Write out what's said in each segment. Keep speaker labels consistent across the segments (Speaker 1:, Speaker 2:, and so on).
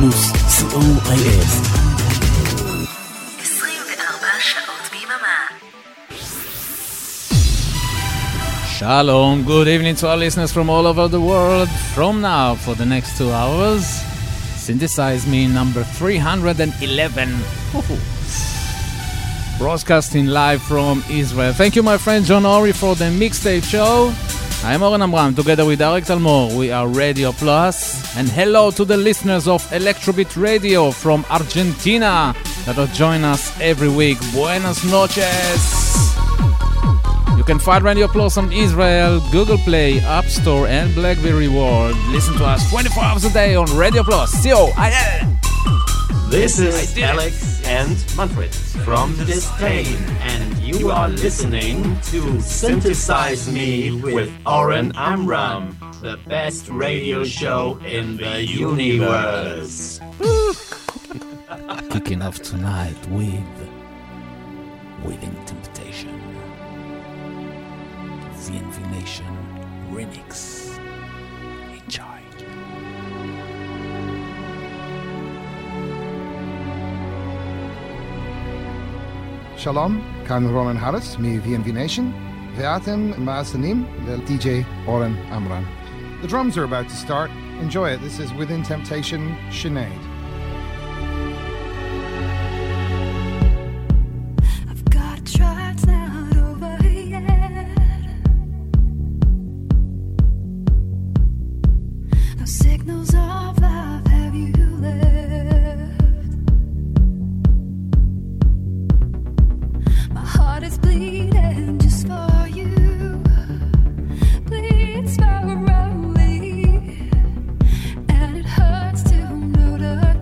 Speaker 1: פלוס, COIF.
Speaker 2: 24 שעות ביממה.
Speaker 3: Shalom, good evening to our listeners from all over the world. From now, for the next 2 hours, Synthesize Me number 311. Broadcasting live from Israel. Thank you, my friend John Ori, for the mixtape show. I'm Oren Amram, together with Arik Talmor. We are Radio Plus. And hello to the listeners of Electrobeat Radio from Argentina that will join us every week. Buenas noches. You can find Radio Plus on Israel, Google Play, App Store, and BlackBerry World. Listen to us 24 hours a day on Radio Plus. COIL.
Speaker 4: This is Alex and Manfred from Disdain, and you are listening to Synthesize Me with Oren Amram, the best radio show in the universe.
Speaker 3: Kicking off tonight with Within Temptation, VNV Nation Remix. Enjoy.
Speaker 5: שלום, כאן רולן הריס מ-VNV Nation, ואתם מאזינים ל-DJ אורן עמרן. The drums are about to start. Enjoy it. This is Within Temptation, Sinead.
Speaker 6: I've got a track's not over yet. No signals of life have you left. My heart is bleeding just for you. Bleeds slowly, and it hurts to know that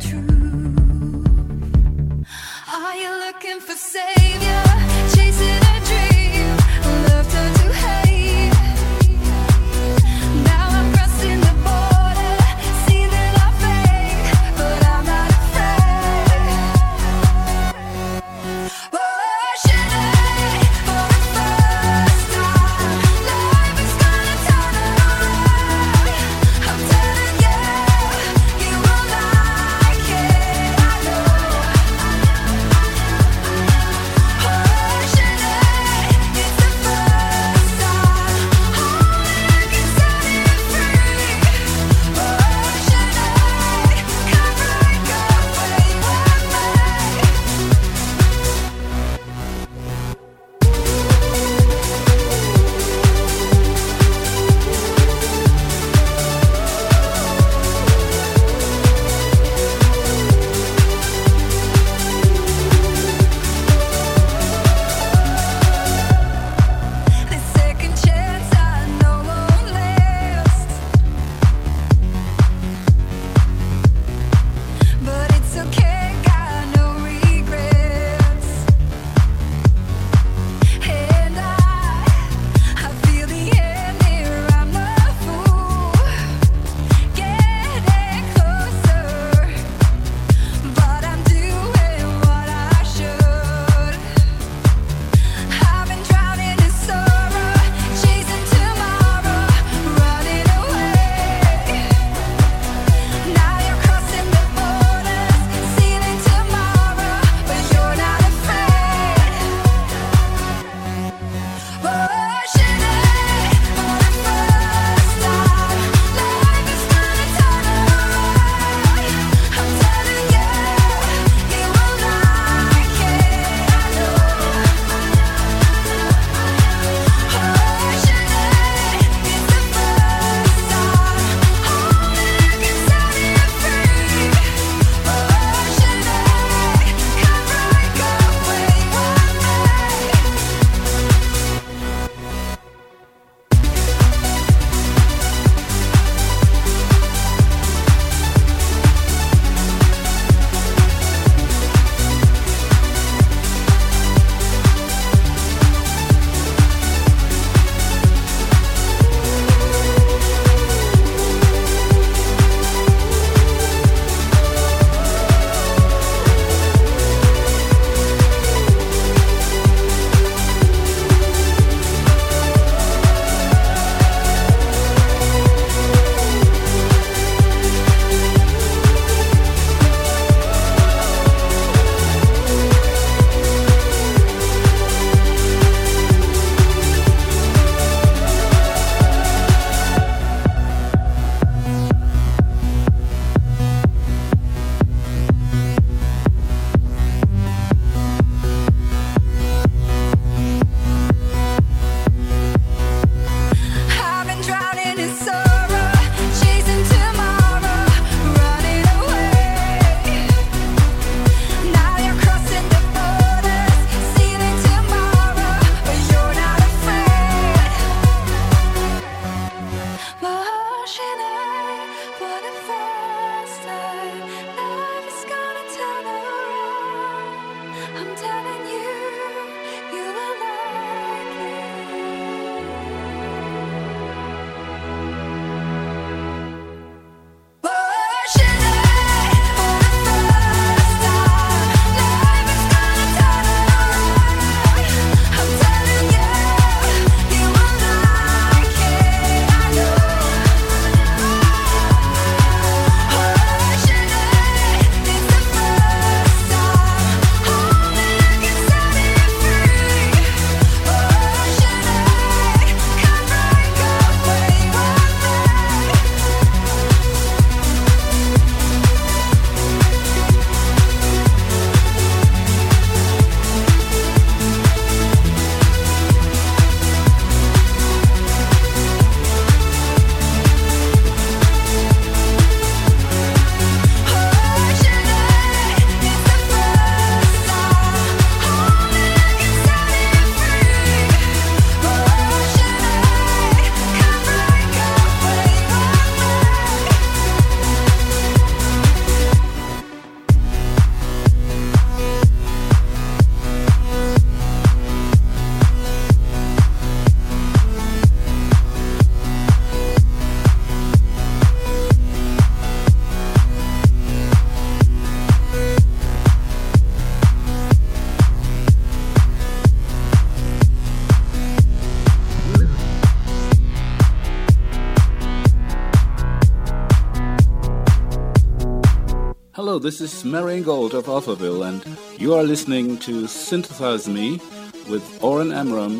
Speaker 7: Hello, this is Marian Gold of Alphaville, and you are listening to Synthesize Me with Oren Amram.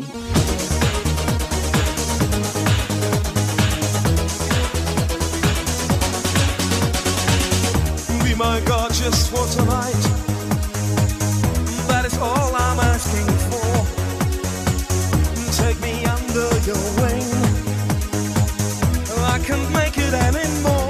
Speaker 8: Be my God just for tonight. That is all I'm asking for. Take me under your wing. I can't make it anymore.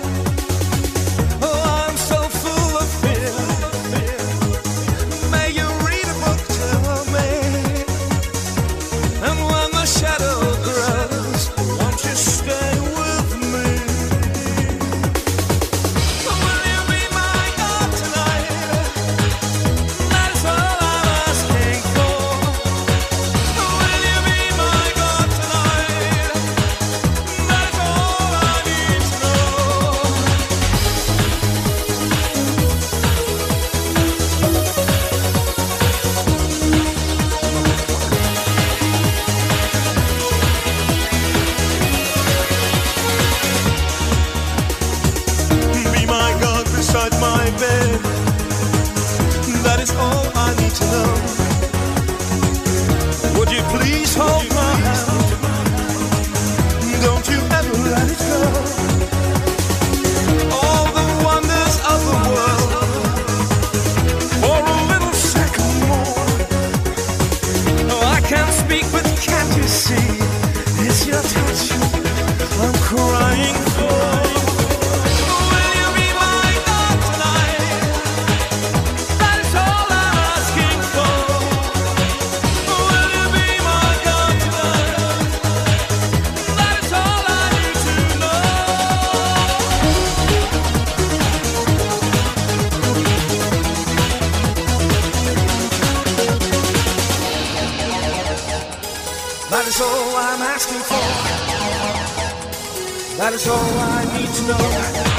Speaker 9: That is all I need to know.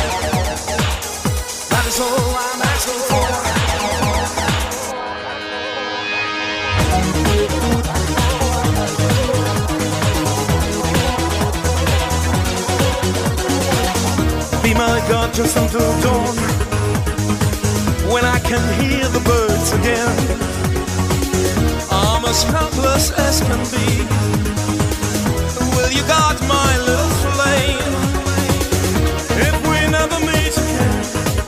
Speaker 9: That is all I'm asking for.
Speaker 8: Be my God just until dawn, when I can hear the birds again. I'm as helpless as can be. Will you guard my little flame? If we never meet again,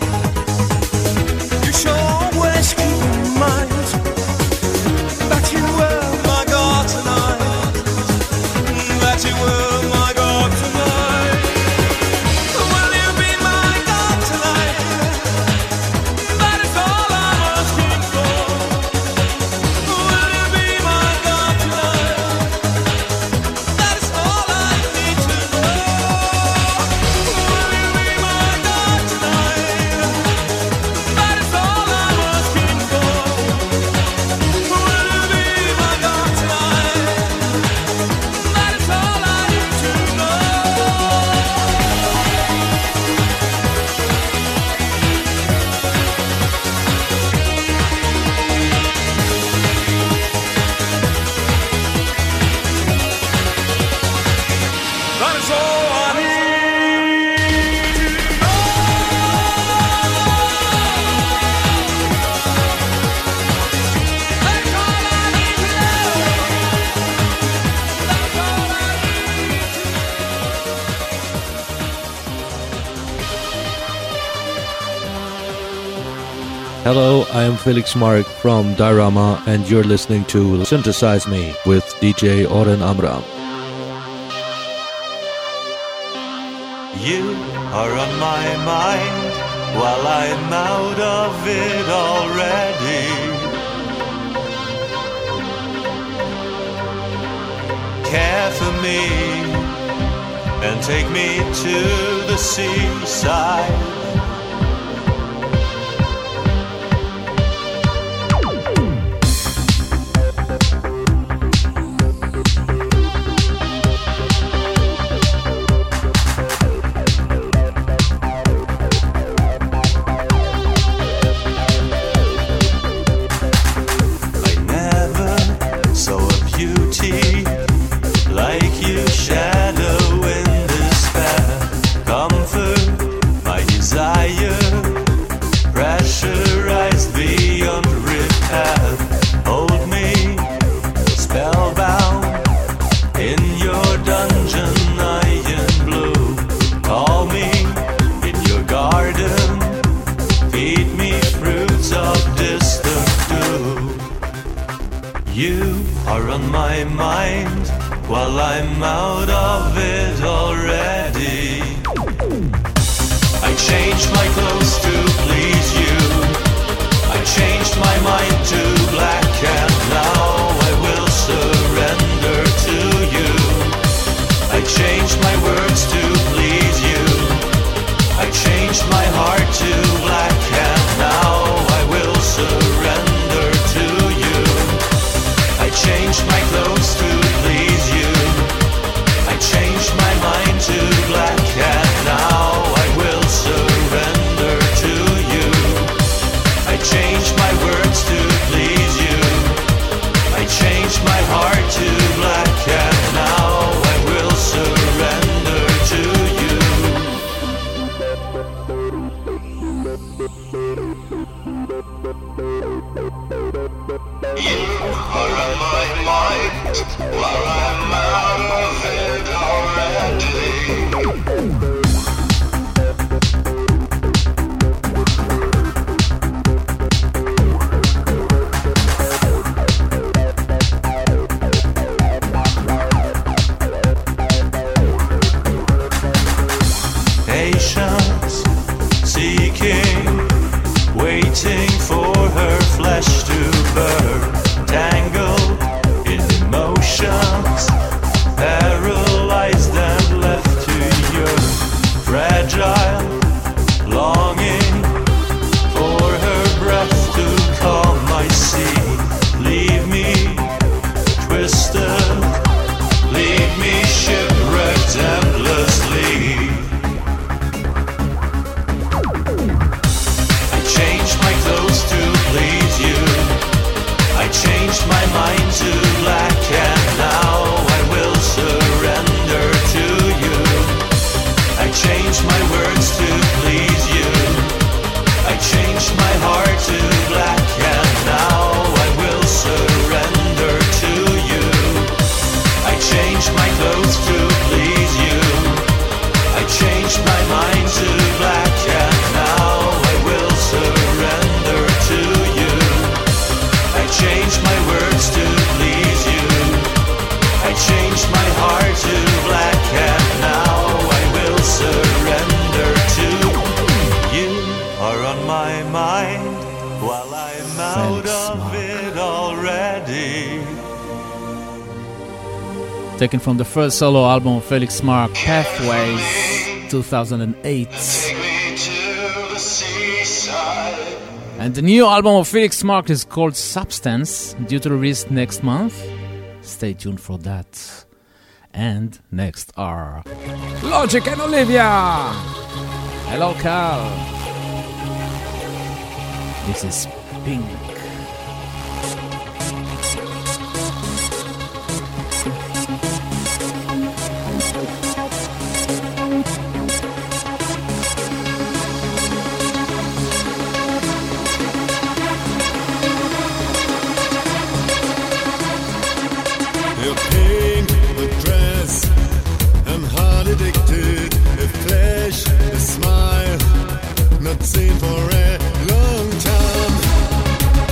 Speaker 8: you should always keep in mind that you were my God tonight. That you were my God tonight. Will you be my God tonight? That is all I'm asking for. Will you be my God tonight? That is all I need to know. Will you be my God tonight? That is all I'm asking for. Will you be my God tonight? That is all I need to know. That is all I need to know. That's all I need to know. That's all I
Speaker 10: Hello, I am Felix Mark from Diorama, and you're listening to Synthesize Me with DJ Oren Amram.
Speaker 11: You are on my mind while I'm out of it already. Care for me and take me to the seaside. I never saw a beauty like you, shadow in despair. Comfort my desire dungeon iron blue. Call me in your garden, feed me fruits of distant dew. You are on my mind while I'm out of it already. I changed my clothes to please you. I changed my mind to black and now I will surrender to you. I changed my words to please you. I changed my heart to black and now I will surrender to you. I changed my clothes to please you. I changed my mind to black and now I will surrender to you. I changed my words to please you. I changed my heart to black and now I will surrender to you. You are on my mind while I'm out of it already. Patience, seeking, waiting for her flesh to burn, tangled in emotions, paralyzed and left to yearn, fragile, longing for her breath to calm my sea. Leave me twisted, leave me shipwrecked endlessly. I changed my clothes to please you. I changed my mind to black and now I will surrender to you. I changed my words to please you. I changed my heart to black and now I will surrender to you. I changed my clothes to please you. I changed my mind to black and now I will surrender to you. I changed my words to please you. I changed my heart to black and now I will surrender to you. You are on my mind while I'm out of it already.
Speaker 3: Taken from the first solo album of Felix Mark, Pathways, 2008. And the new album of Felix Mark is called Substance, due to release next month. Stay tuned for that. And next are Logic and Olivia. Hello, Carl. This is Pink.
Speaker 12: You're pink, the dress, I'm hard addicted. A flash, a smile, not seen for a long time.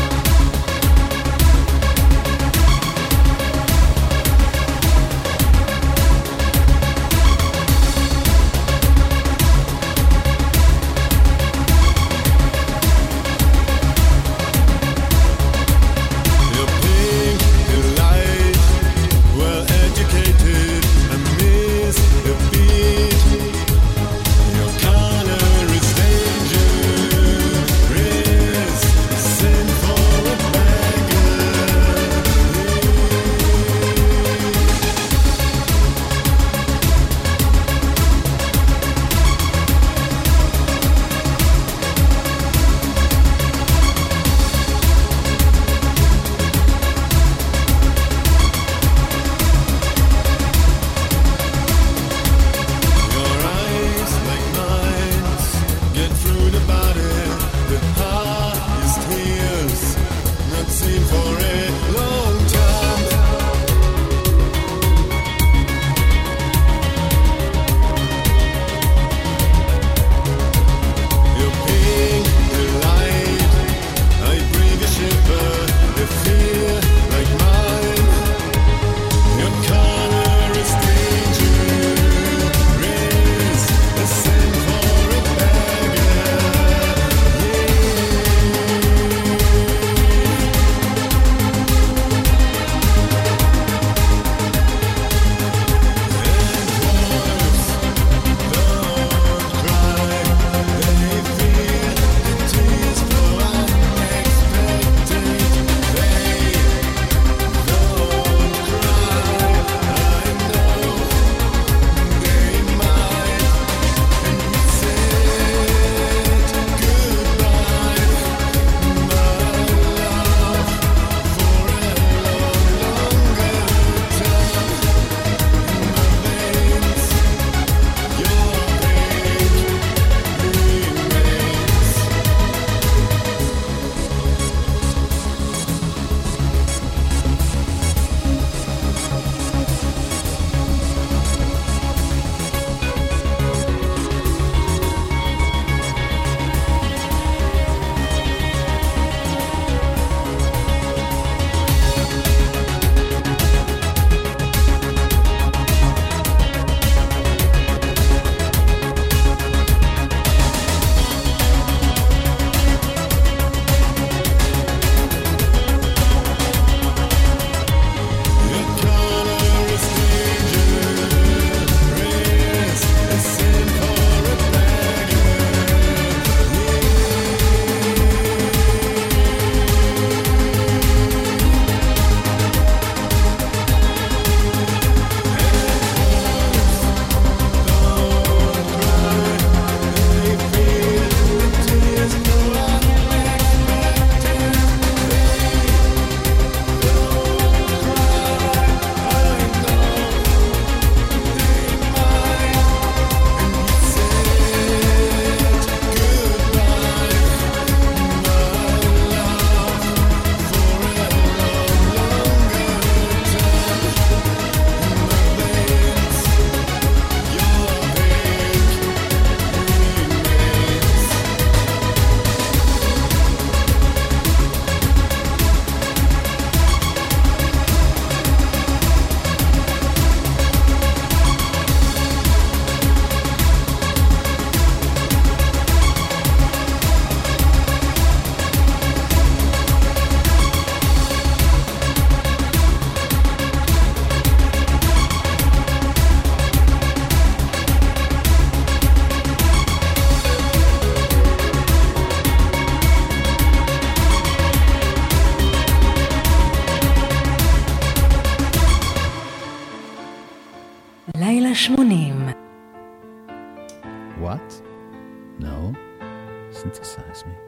Speaker 2: לילה 80.
Speaker 3: What? No. Synthesize me.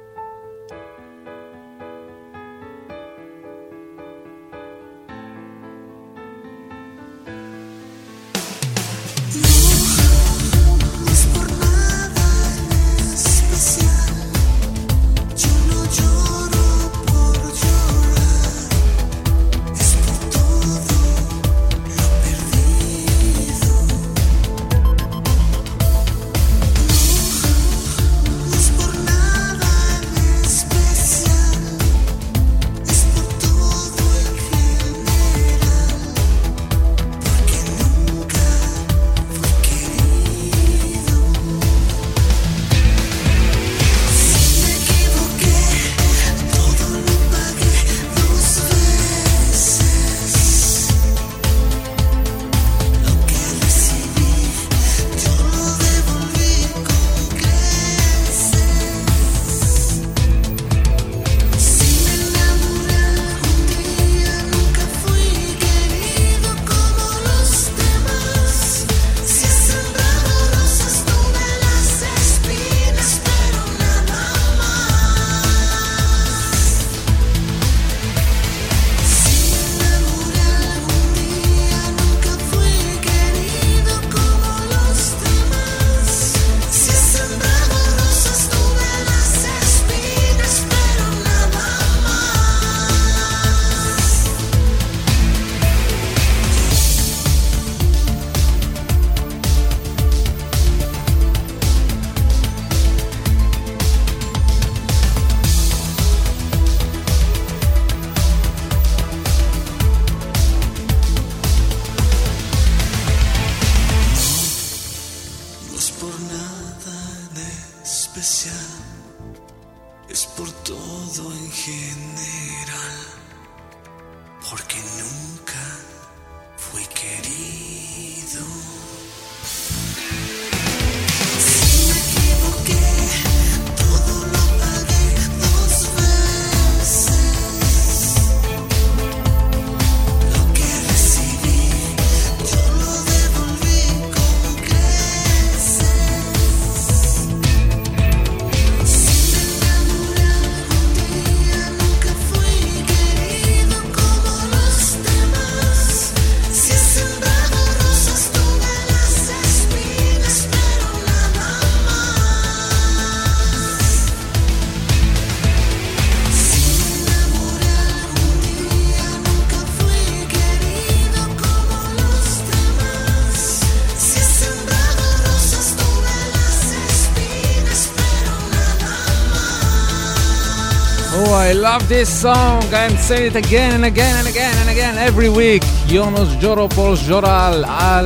Speaker 3: I love this song. I'm saying it again and again and again and again every week. Yonos Joropol Joral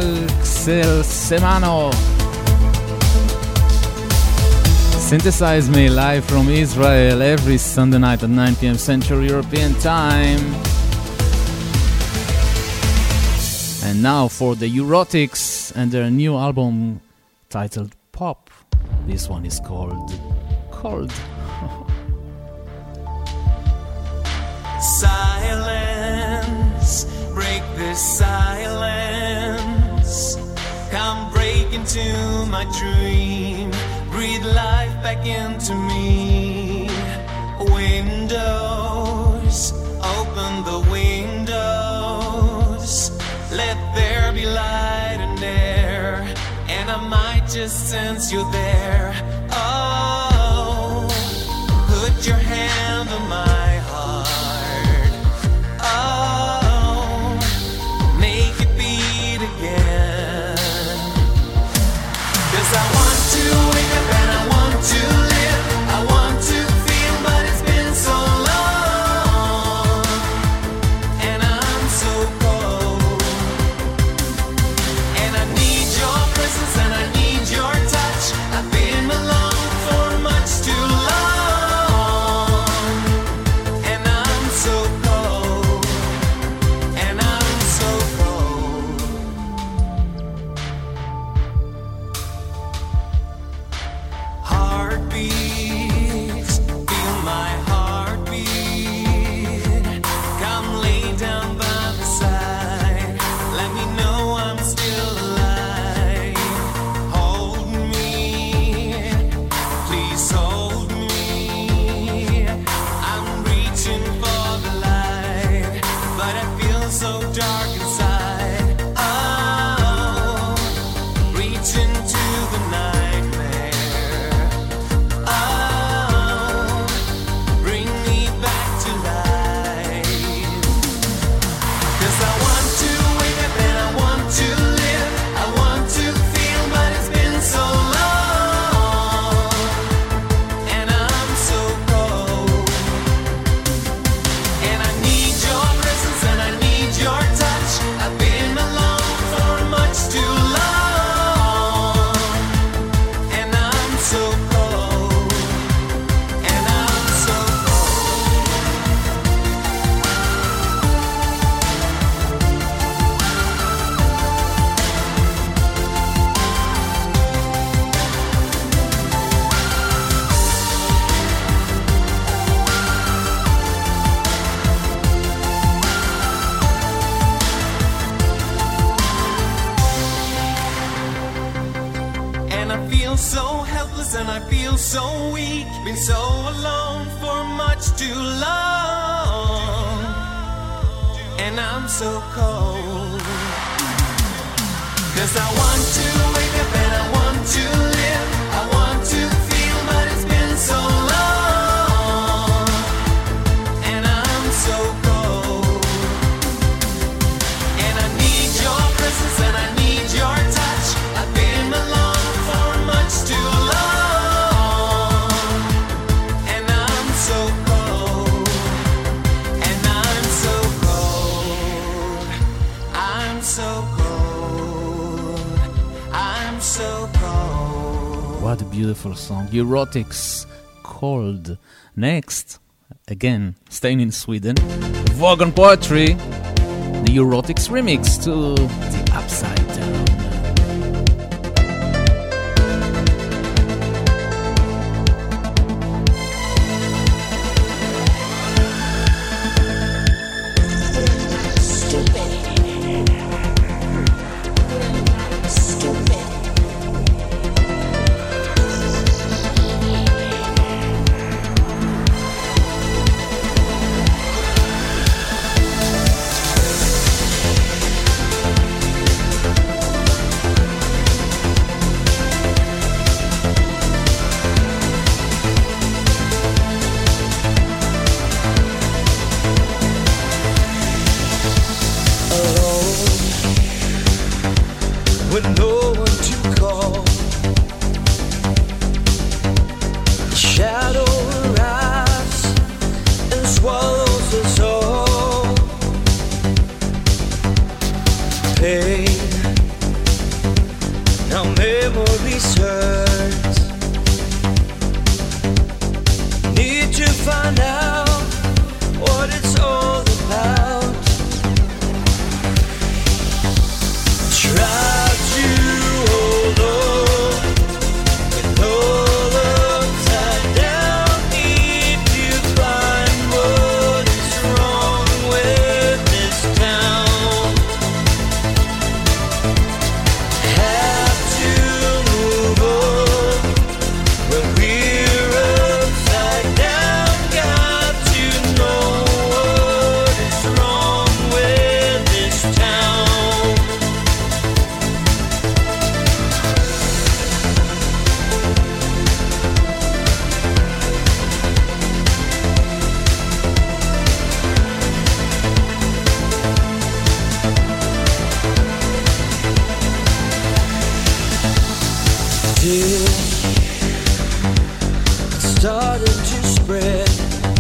Speaker 3: Alxel Semano. Synthesize Me live from Israel every Sunday night at 9 p.m. Central European Time. And now for the Eurotics and their new album titled Pop. This one is called Cold.
Speaker 11: Silence, break this silence. Come break into my dream. Breathe life back into me. Windows, open the windows. Let there be light and air. And I might just sense you there. Oh, put your hand on my heart. Oh, make it beat again. 'Cause I want to wake up and I want to live. I want to feel, but it's been so long. And I'm so cold. And I need your presence and I need your touch. I've been alone.
Speaker 8: so helpless and I feel so weak. Been so alone for much too long. And I'm so cold. 'Cause I want to wake up and I want to live. I want to feel, but it's been so long. And I'm so cold. And I need your presence and I need your touch. I've been alone for much too long. And I'm so cold. And I'm so cold. I'm so cold. I'm so cold.
Speaker 3: What a beautiful song. Erotics, Cold. Next, again, staying in Sweden, Vogon Poetry, the Erotics remix to The Upside Down.
Speaker 9: With no one to call, the shadow arrives and swallows us all. Pain, now memories hurt. Need to find out what it's all about. Try to hold on with all upside down. If you find what's wrong with this town, have to move on when we're upside down. Got to know what is wrong with this town. It's starting to spread.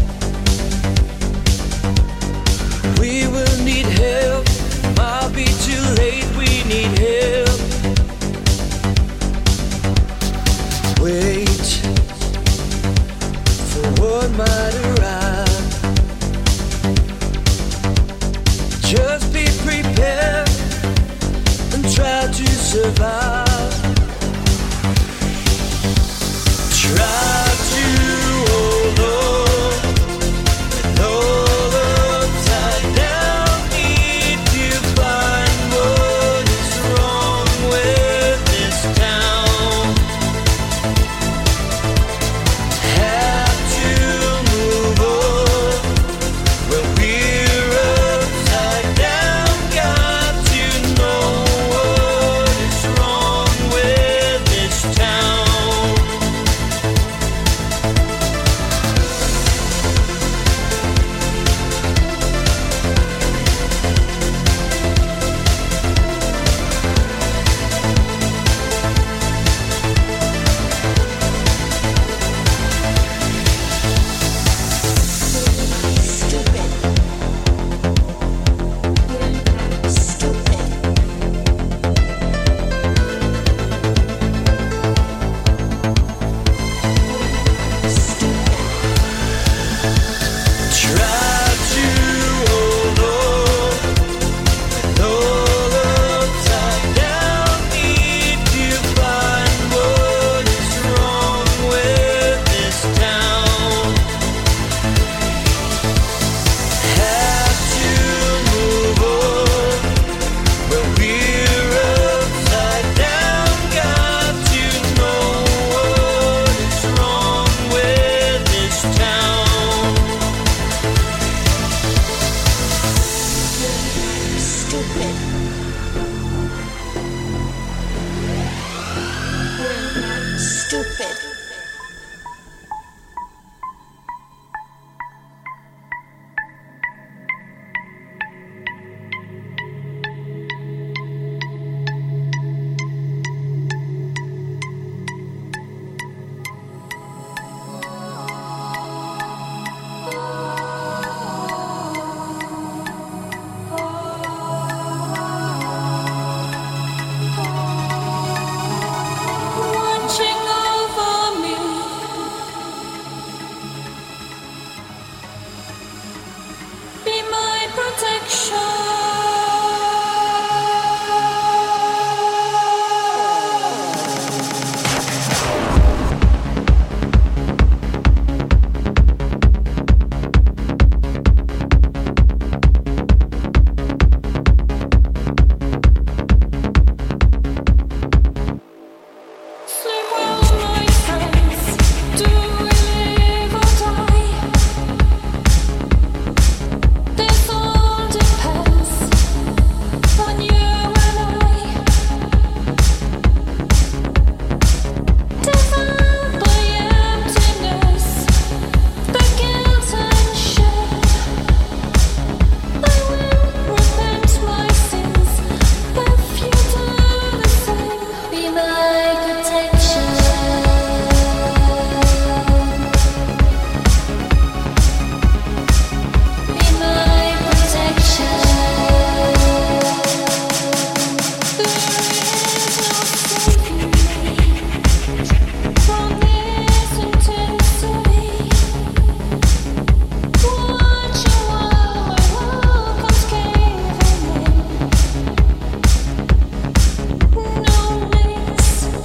Speaker 9: We will need help. Might be too late. We need help. Wait for what might arrive. Just be prepared and try to survive. Try to hold on with all upside down.
Speaker 6: stupid.
Speaker 13: Watching over me, be my protection. Sleep well, my friends. Do we live or die? This all depends on you and I. Devour the emptiness, the guilt and shame. I will repent my sins if you do the same. Be my protection. Be my protection. There is no saving me from this intensity. Watching while my world comes caving in. No names,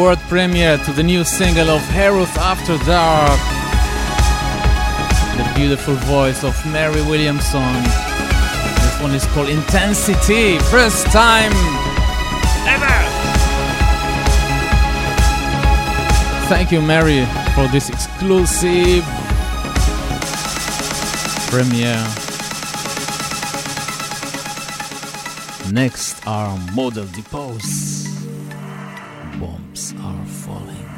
Speaker 3: world premiere to the new single of Harus After Dark. The beautiful voice of Mary Williamson. This one is called Intensity. First time ever. Thank you, Mary, for this exclusive premiere. Next are Model Depose. Bombs are falling.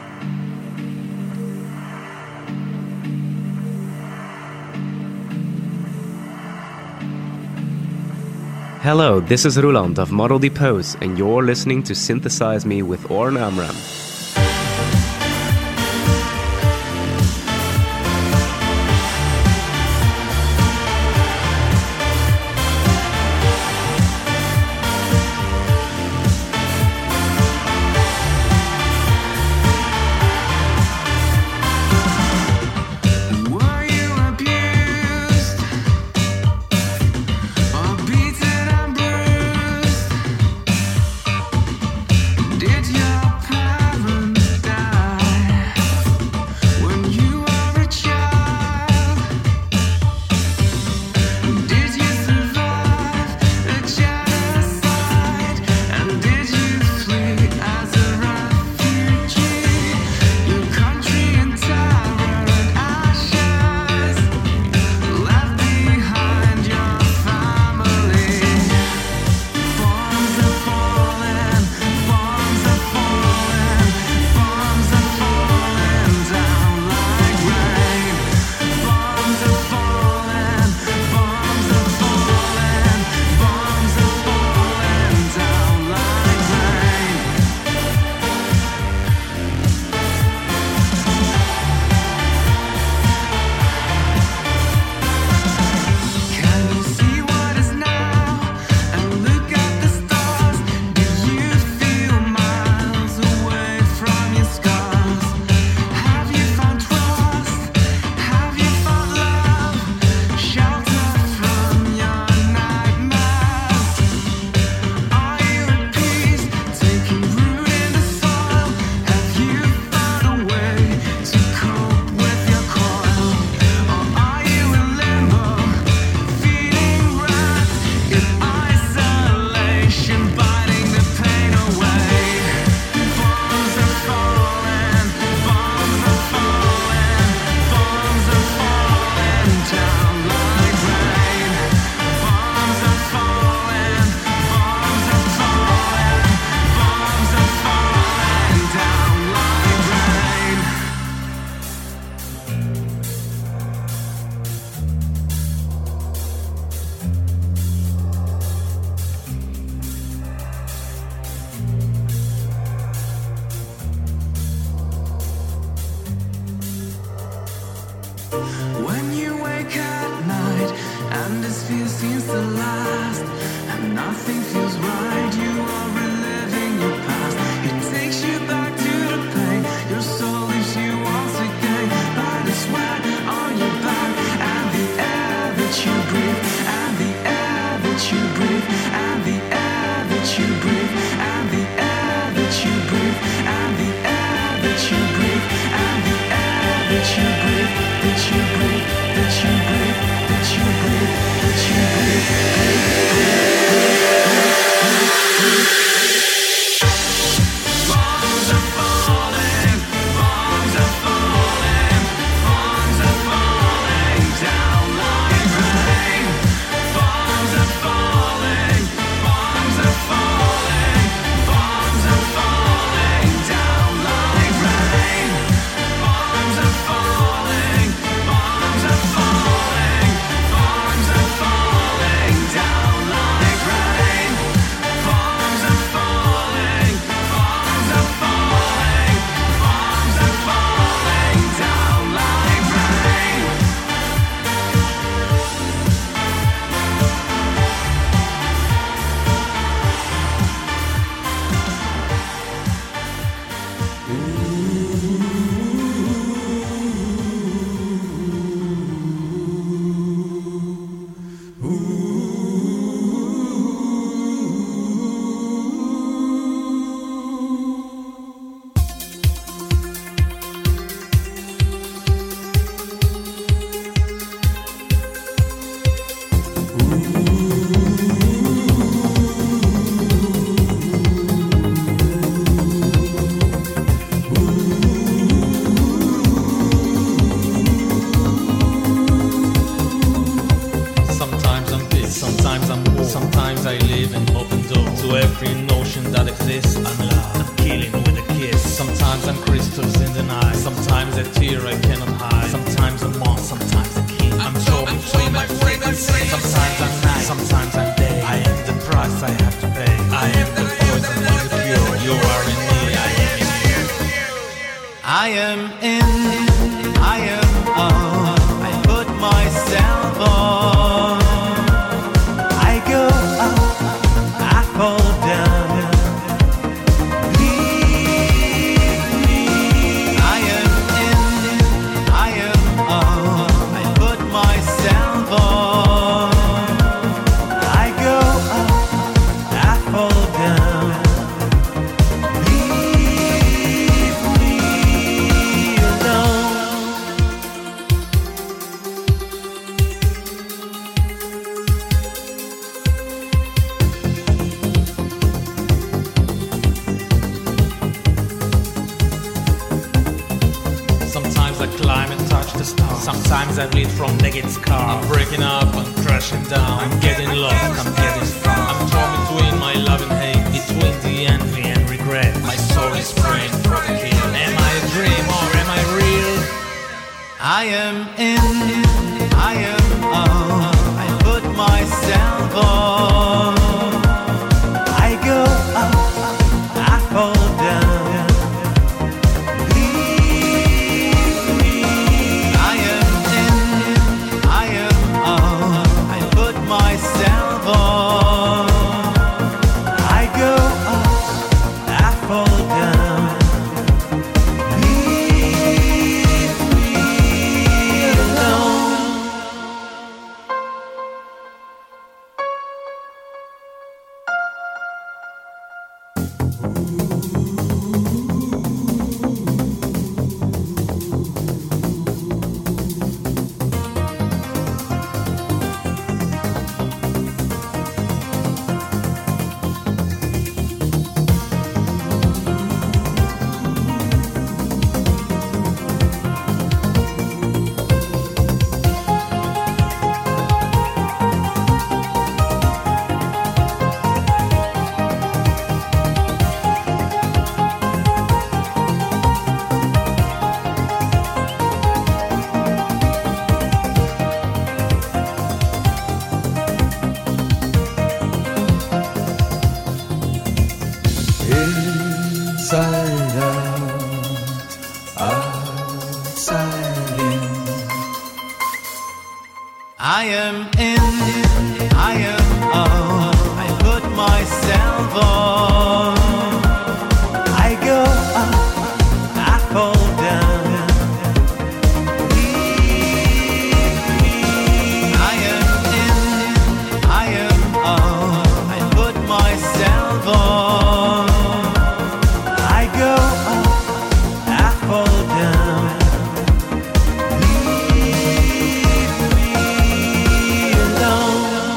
Speaker 14: Hello, this is Roland of Model Depose, and you're listening to Synthesize Me with Oren Amram.
Speaker 8: Did your parents
Speaker 15: That you breathe. Sometimes a tear I cannot hide. Sometimes a monk, sometimes a king. I'm torn between my frequency. Sometimes I'm night, sometimes I'm day. I am the price I have to pay. I am the poison and the cure. You are in me, I am in you.
Speaker 8: I am in, I am on. I put myself on. I go up, I fall down. Leave me. I am in, I am on. I put myself on. I go up, I fall down. Leave me alone.
Speaker 15: Sometimes I climb and touch the stars. Sometimes I bleed from naked scars. I'm breaking up, I'm crashing down. I'm getting lost, I'm getting strong. I'm torn between my love and hate, between the envy and regret. My soul is praying for the kill. Am I a dream or am I real?
Speaker 8: I am in, I am on. I put myself on. I go up, I fall down. Leave me. I am in, I am on. I put myself on. I go up, I fall down. Leave me alone.
Speaker 9: Inside out, outside in.
Speaker 8: I am in, I am on. I put myself on. I go up, I fall down. Leave me. I am in, I am on. I put myself on. I go up, I fall down. Leave me alone.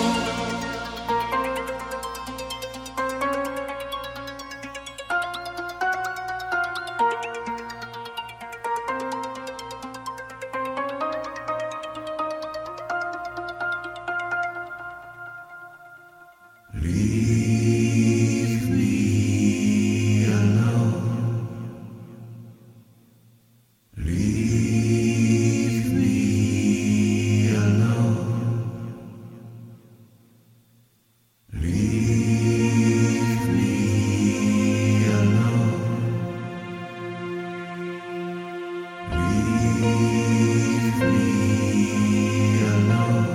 Speaker 8: Leave me alone. Leave me alone. Leave me alone. Leave me alone.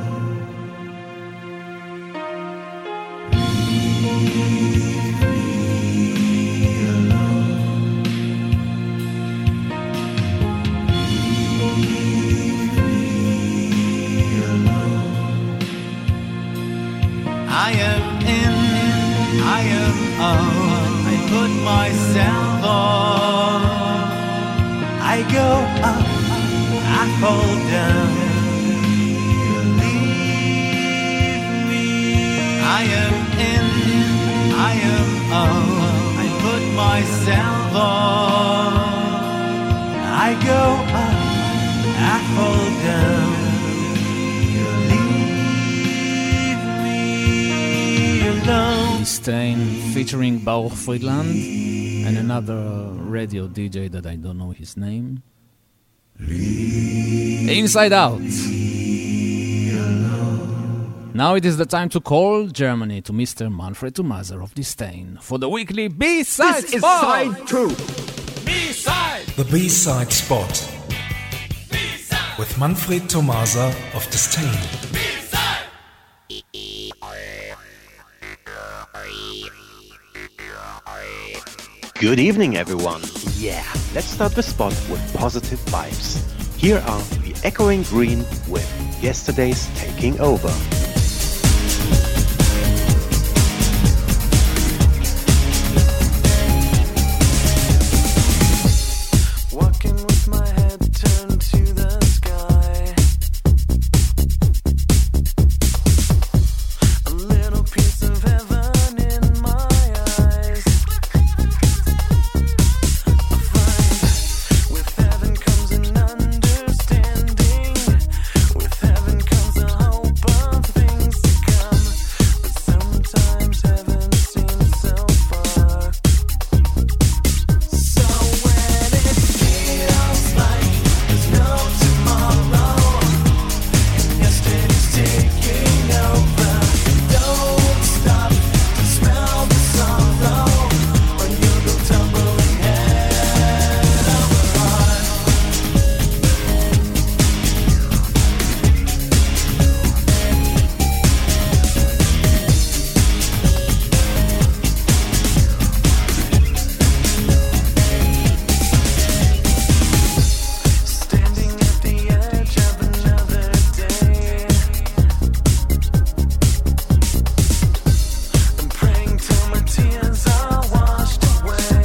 Speaker 8: I am in, I am on. I put myself on. I go up, I fall down. Leave me. I am in, I am on. I put myself on. I go up, I fall down. Leave me alone.
Speaker 3: Stain featuring Baruch Friedland and another radio DJ that I don't know his name. Inside Out. Now it is the time to call Germany to Mr. Manfred Tomaser of Disdain for the weekly B-side
Speaker 16: This is
Speaker 3: spot.
Speaker 16: side 2.
Speaker 3: B-side.
Speaker 17: The B-side spot. With Manfred Tomaser of Disdain.
Speaker 18: Good evening, everyone. Yeah, let's start the spot with positive vibes. Here are the Echoing Green with Yesterday's Taking Over.
Speaker 8: Walking with my head turned to the sky. A little piece of heaven in my eyes. I find with heaven comes an understanding. With heaven comes a hope of things to come. But sometimes heaven seems so far. So when it feels like there's no tomorrow, and yesterday's taking over, don't stop to smell the sorrow, or you'll go tumbling head over heart. Standing at the edge of another day, I'm praying till my tears are washed away.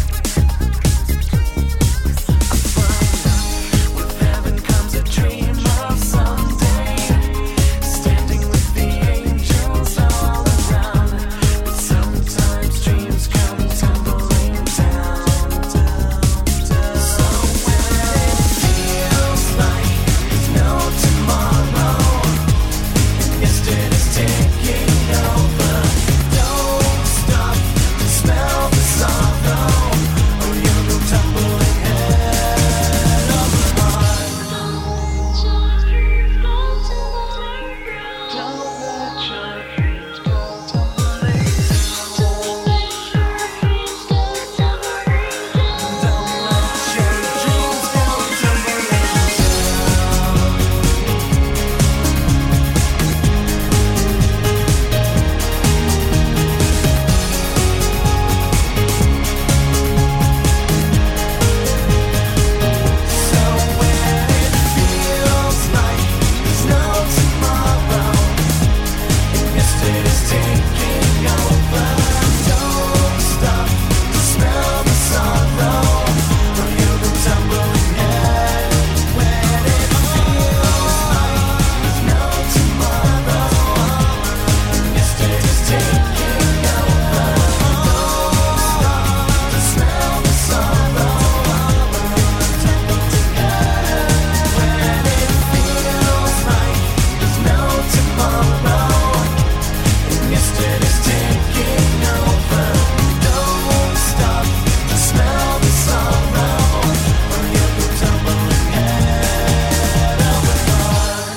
Speaker 8: I find with heaven comes a dream of someday, standing with the angels all around. But sometimes dreams come tumbling down, down, down. So when it feels like there's no tomorrow, and yesterday's taking over, don't stop to smell the sorrow, or you'll go tumbling head over heart. Don't let your dreams go tumbling down. Don't let your dreams go tumbling So when it feels like there's no tomorrow, and yesterday's taking over, don't stop to smell the sorrow, or you'll go tumbling head. When it feels like there's no tomorrow, and yesterday's taking over, don't stop to smell the sorrow, or you'll go tumbling head. When it feels like there's no tomorrow, and yesterday's taking over, don't stop to smell the sorrow, or you'll go tumbling head over heart.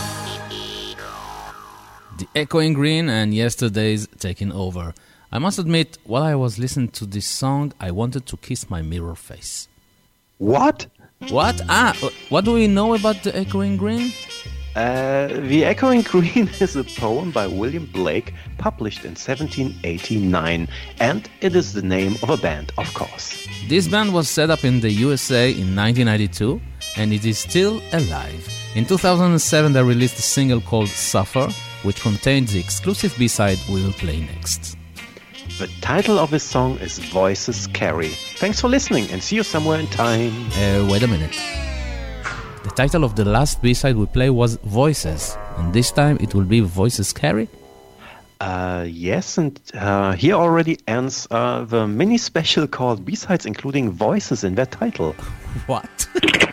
Speaker 3: The Echoing Green and Yesterday's Taking Over. I must admit, while I was listening to this song, I wanted to kiss my mirror face.
Speaker 18: What?
Speaker 3: What? What do we know about the Echoing Green?
Speaker 18: The Echoing Green is a poem by William Blake, published in 1789, and it is the name of a band, of course.
Speaker 3: This band was set up in the USA in 1992, and it is still alive. In 2007, they released a single called Suffer, which contains the exclusive B-side we will play next.
Speaker 18: The title of his song is Voices Carry. Thanks for listening, and see you somewhere in time.
Speaker 3: Wait a minute. The title of the last B-side we play was Voices, and this time it will be Voices Carry?
Speaker 18: Yes, and here already ends the mini special called B-sides, including voices in their title.
Speaker 3: What?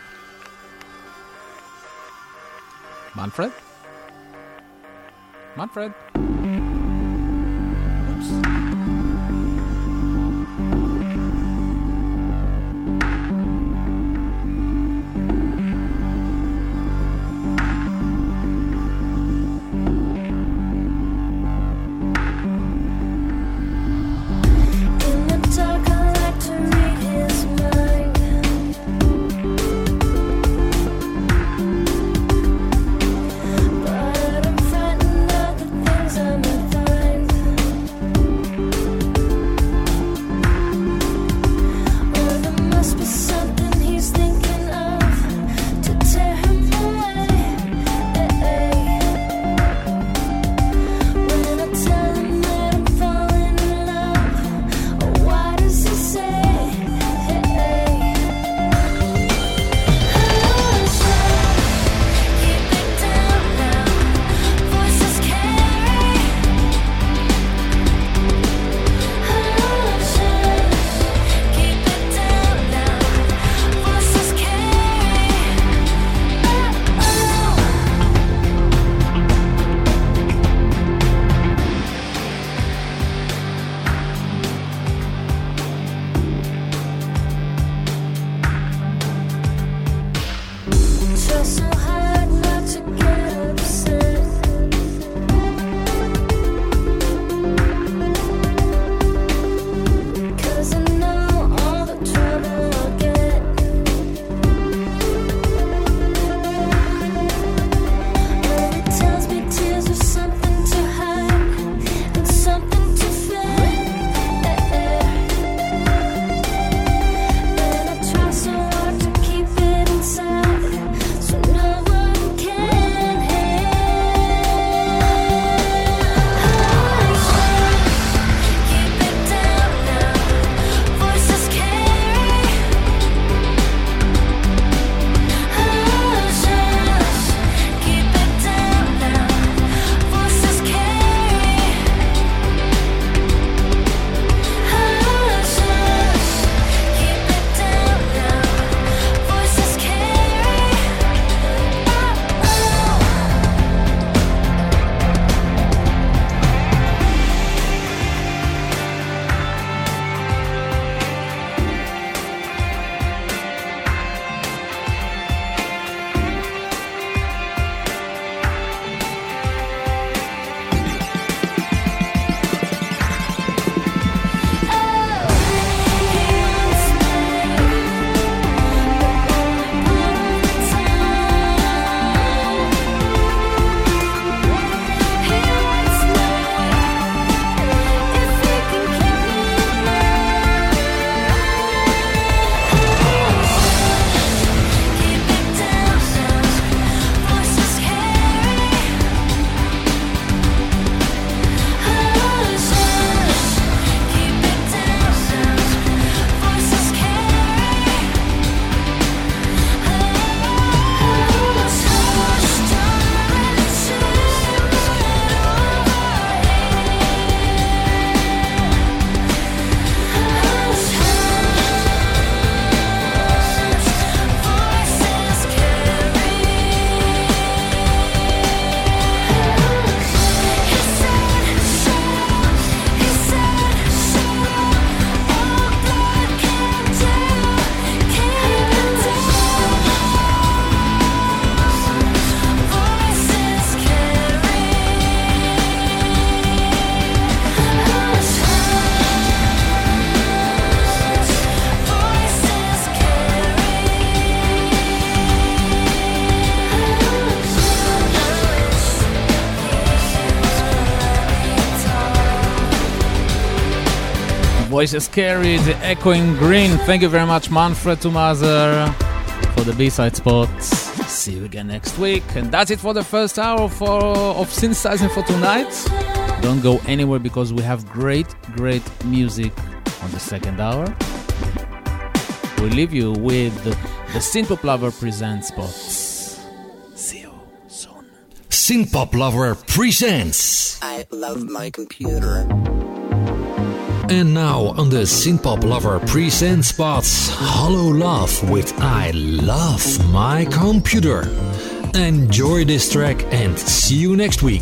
Speaker 3: Manfred? Manfred? Voices Carry, the Echoing Green. Thank you very much, Manfred Tomaser, for the B-side spot. See you again next week. And that's it for the first hour of Synthesizing for tonight. Don't go anywhere because we have great music on the second hour. We leave you with the Synthpop Lover presents spots. See you soon.
Speaker 16: Synthpop Lover presents
Speaker 19: I Love My Computer.
Speaker 16: And now on the Synthpop Lover presents spots, Hollow Love with I Love My Computer. Enjoy this track and see you next week.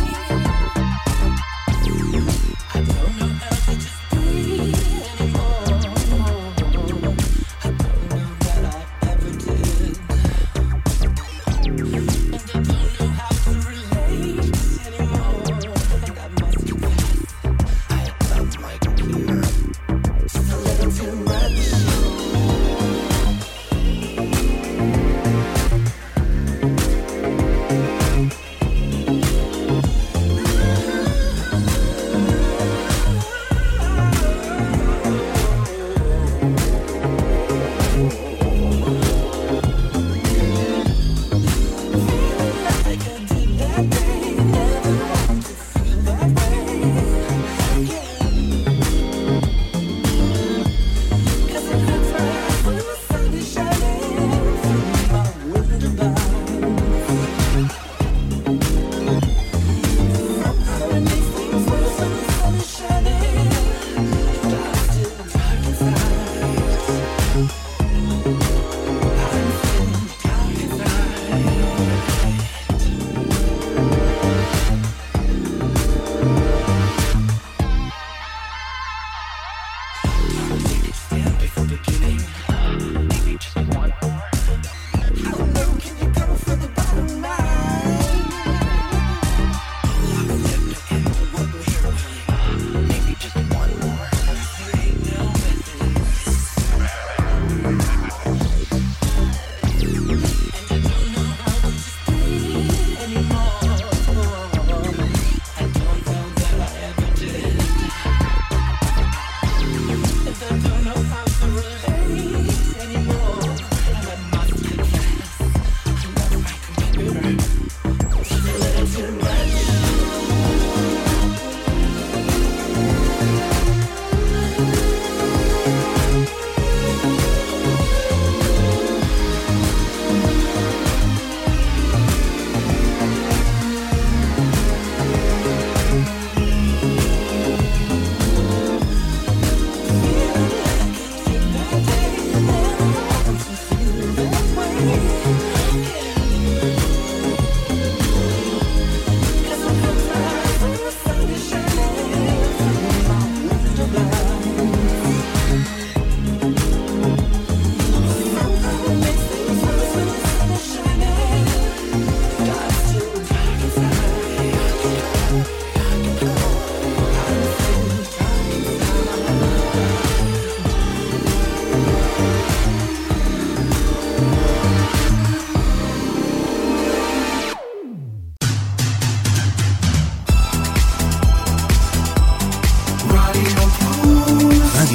Speaker 6: Anymore.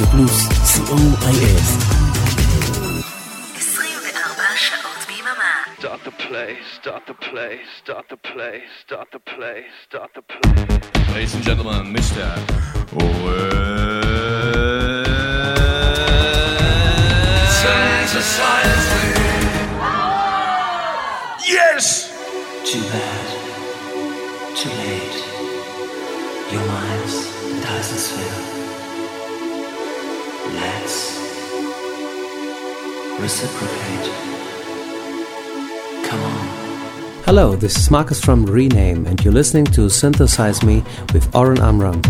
Speaker 1: פלוס, co.il.
Speaker 2: 24 שעות ביממה.
Speaker 11: Start the play, start the play, start the play, start the play, start the play.
Speaker 20: Ladies and gentlemen, Mr.
Speaker 8: Synthesize me. Yes!
Speaker 19: Too bad. Too late. Your mind's a Dyson sphere. Let's reciprocate. Come on.
Speaker 21: Hello, this is Marcus from Rename, and you're listening to Synthesize Me with Oren Amram.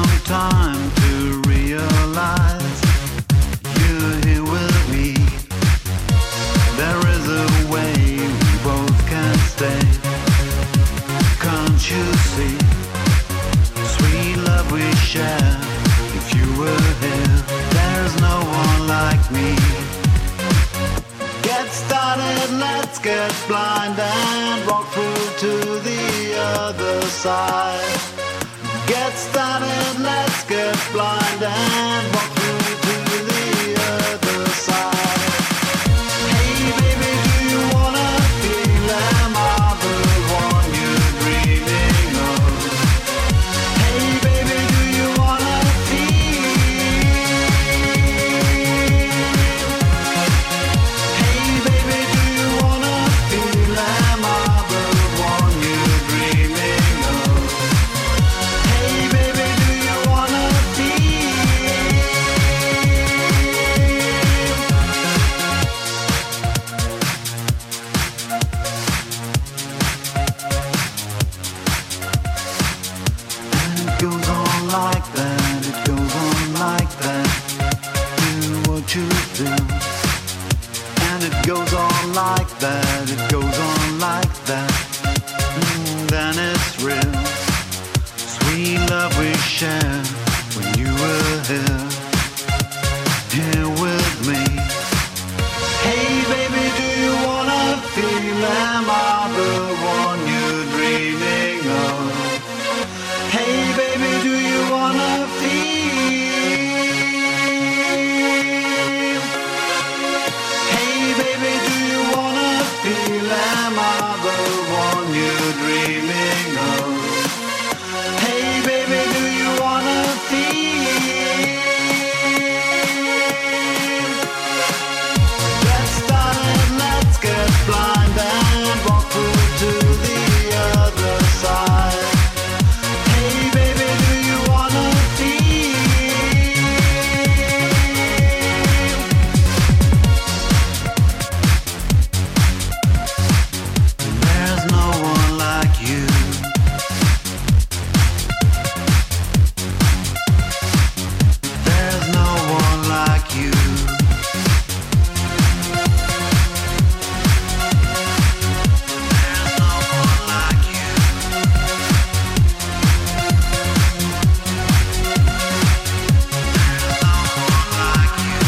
Speaker 4: long time to realize you're here with me. There is a way we both can stay. Can't you see? Sweet love we share. If you were here, there's no one like me. Get started, let's get blind and walk through to the other side. Get started, let's get blind and walk through to the other side. Hey baby, do you wanna feel am I the one you're dreaming of? Hey baby, do you wanna feel? Hey baby, do you wanna feel am I the one you're dreaming of? Hey baby, do you wanna feel? And it goes on like that, it goes on like that. Do what you do. And it goes on like that, it goes on like that. Then it's real. Sweet love we share when you were here, here with me. Hey baby, do you wanna feel am I the one you're dreaming of? Hey baby, do you wanna feel? Hey baby, do you wanna feel am I the one you're dreaming of? Hey baby, do you wanna feel? Get started, let's get blind and walk through to the other side. Hey baby, do you wanna feel? There's no one like you. There's no one like you. There's no one like you. There's no one like you.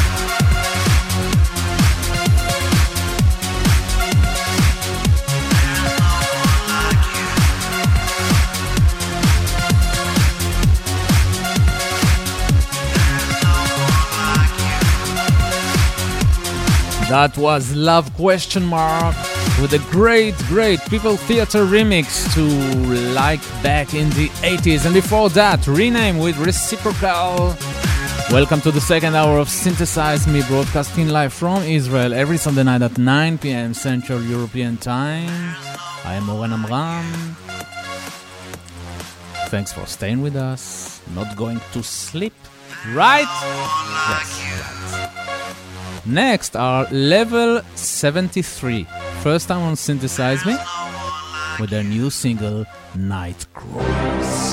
Speaker 4: There's no one like you.
Speaker 3: That was Love Question Mark with a great People Theater remix to Like back in the 80s. And before that, Rename with Reciprocal. Welcome to the second hour of Synthesize Me, broadcasting live from Israel every Sunday night at 9 p.m. Central European Time. I am Oren Amram. Thanks for staying with us. Not going to sleep, right? Yes, right. Next are Level 73. First time on Synthesize Me with their new single, Night Crawlers.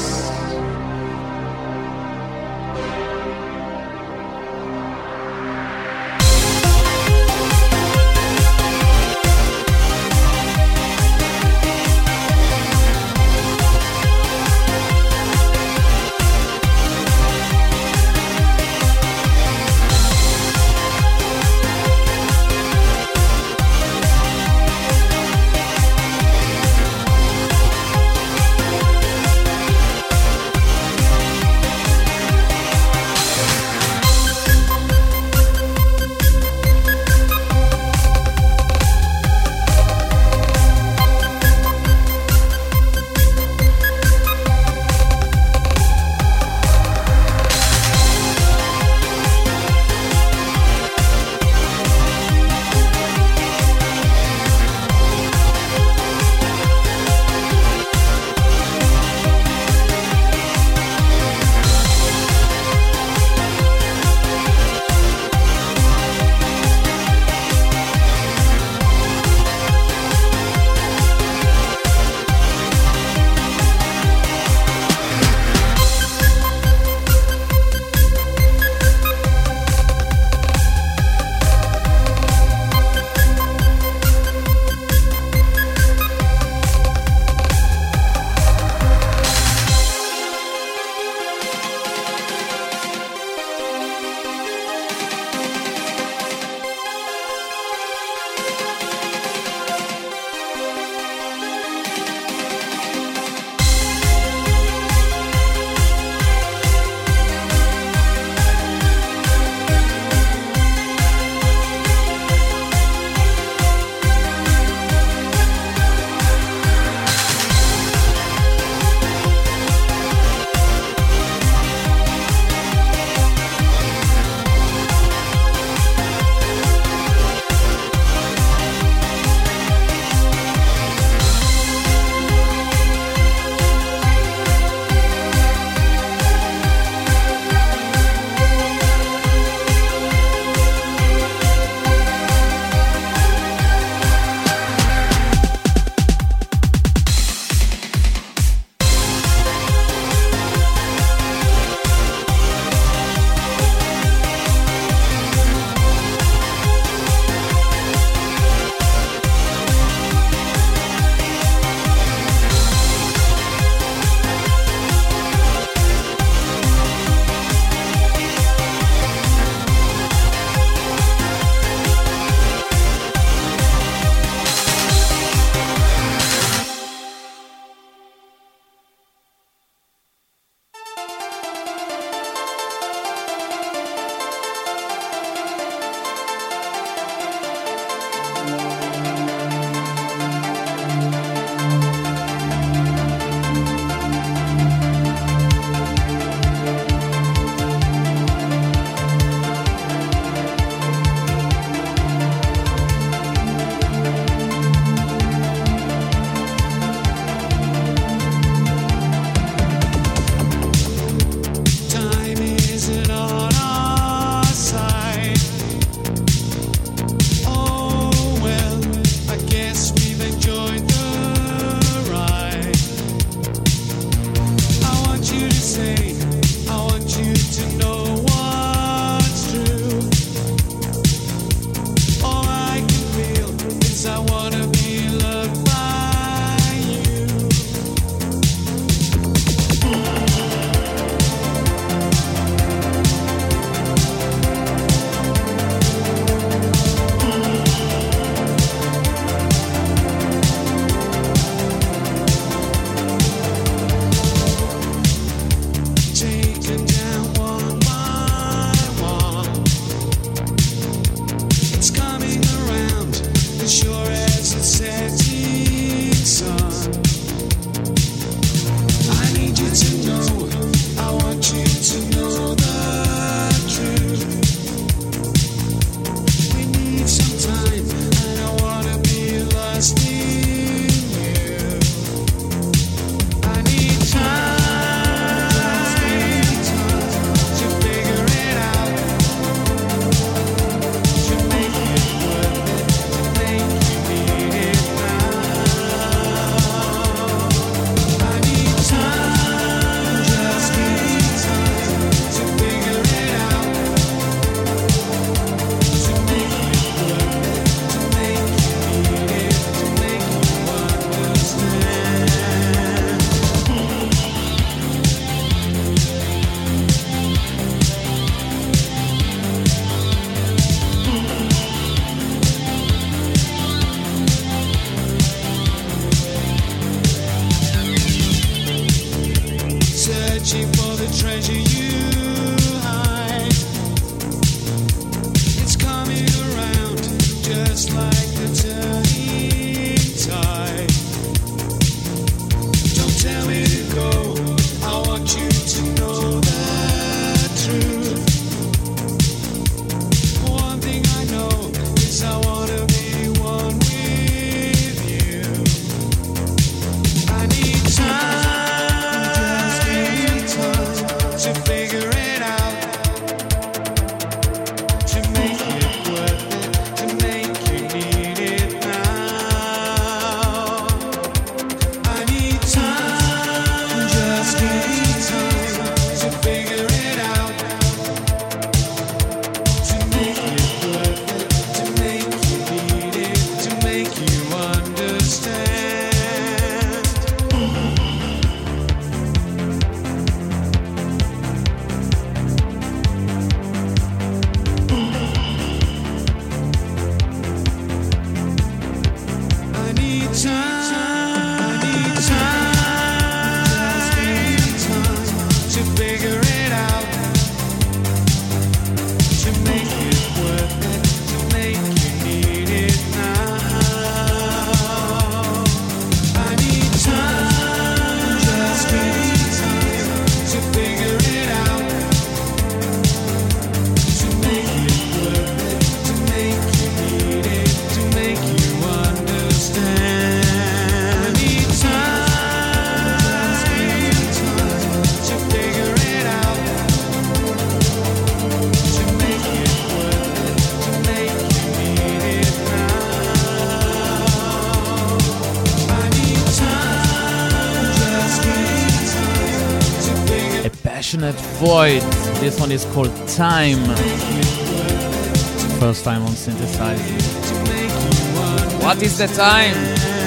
Speaker 3: Void. This one is called Time. First time on Synthesizing. What is the time?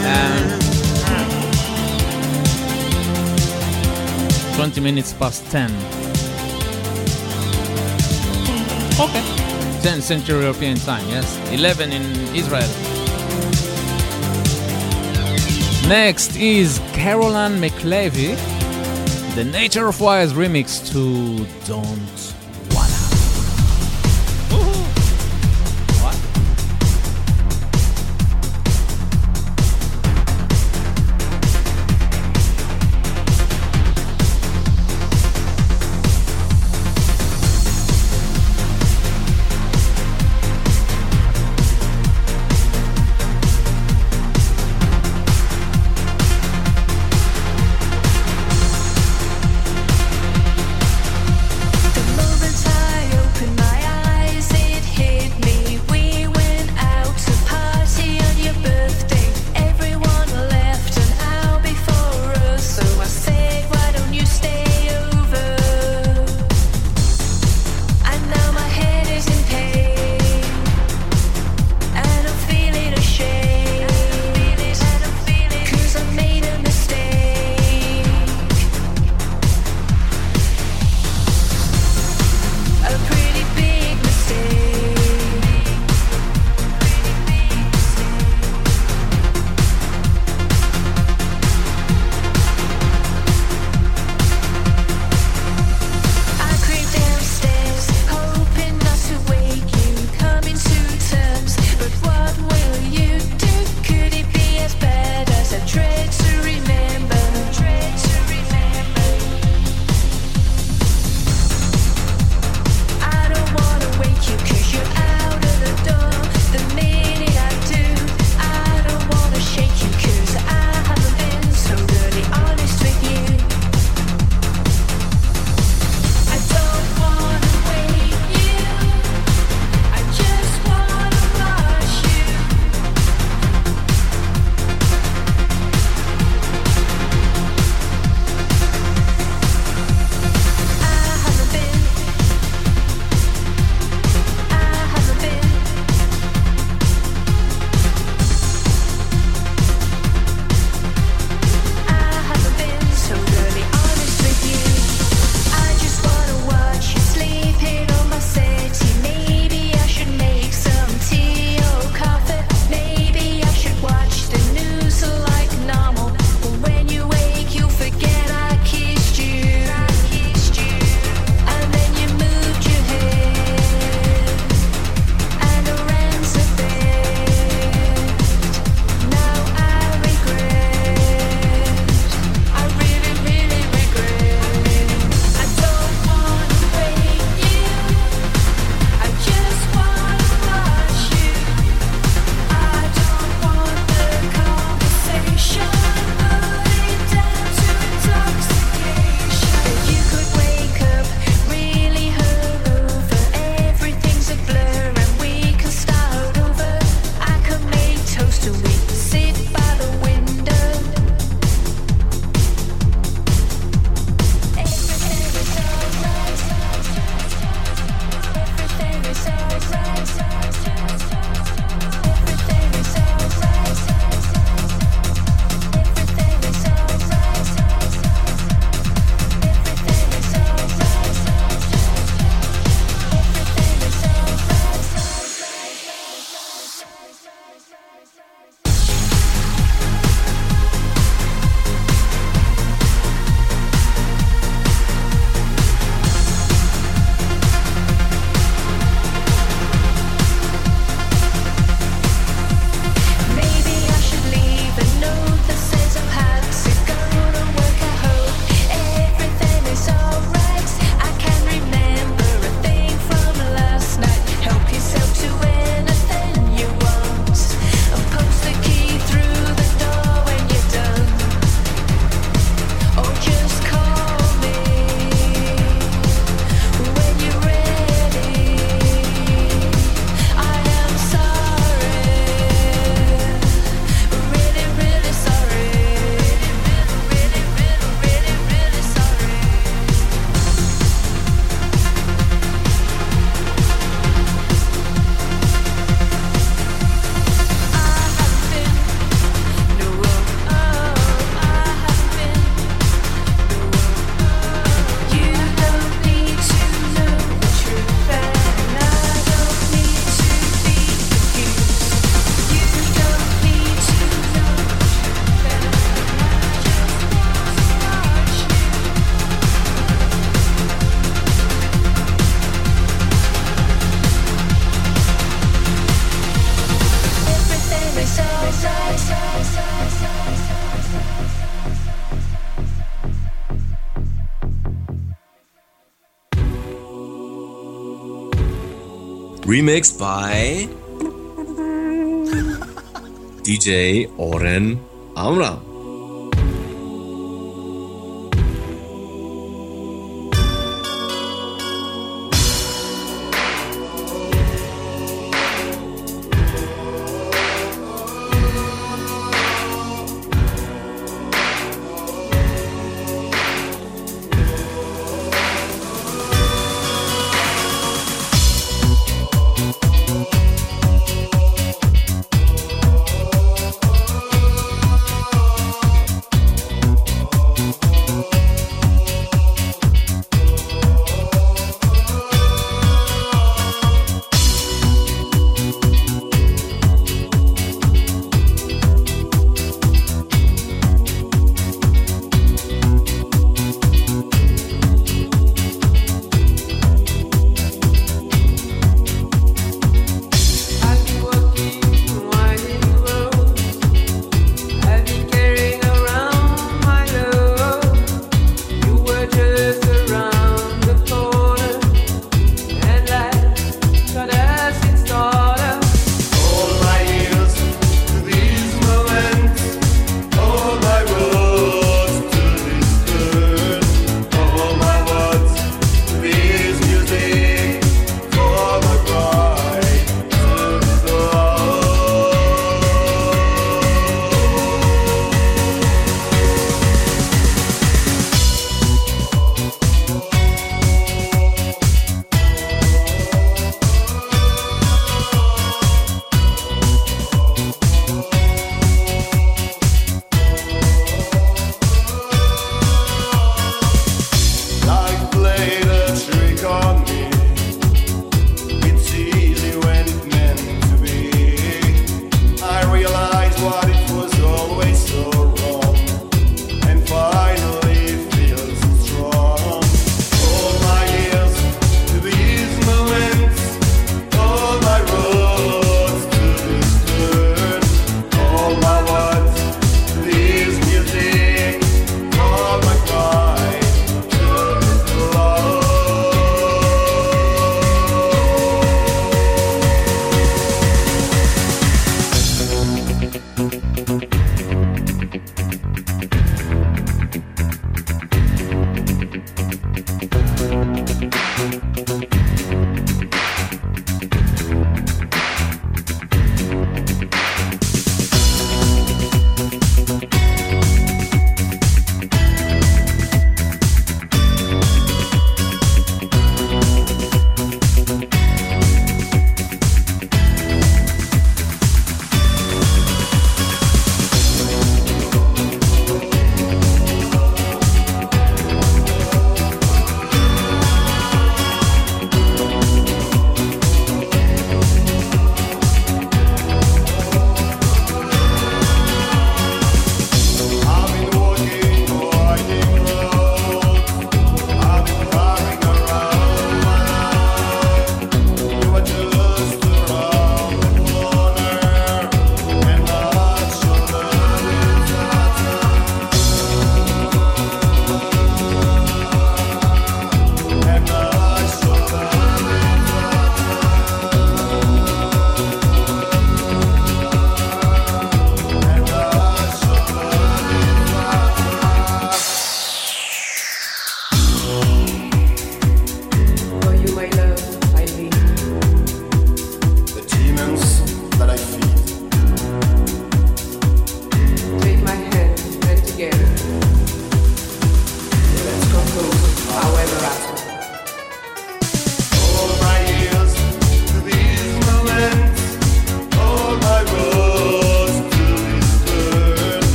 Speaker 3: 20 minutes past 10. Okay. 10th century European time, yes. 11 in Israel. Next is Caroline McLevy, the Nature of Wires remix to Don't Wanna. What?
Speaker 6: The love
Speaker 5: remixed by DJ Oren Amram.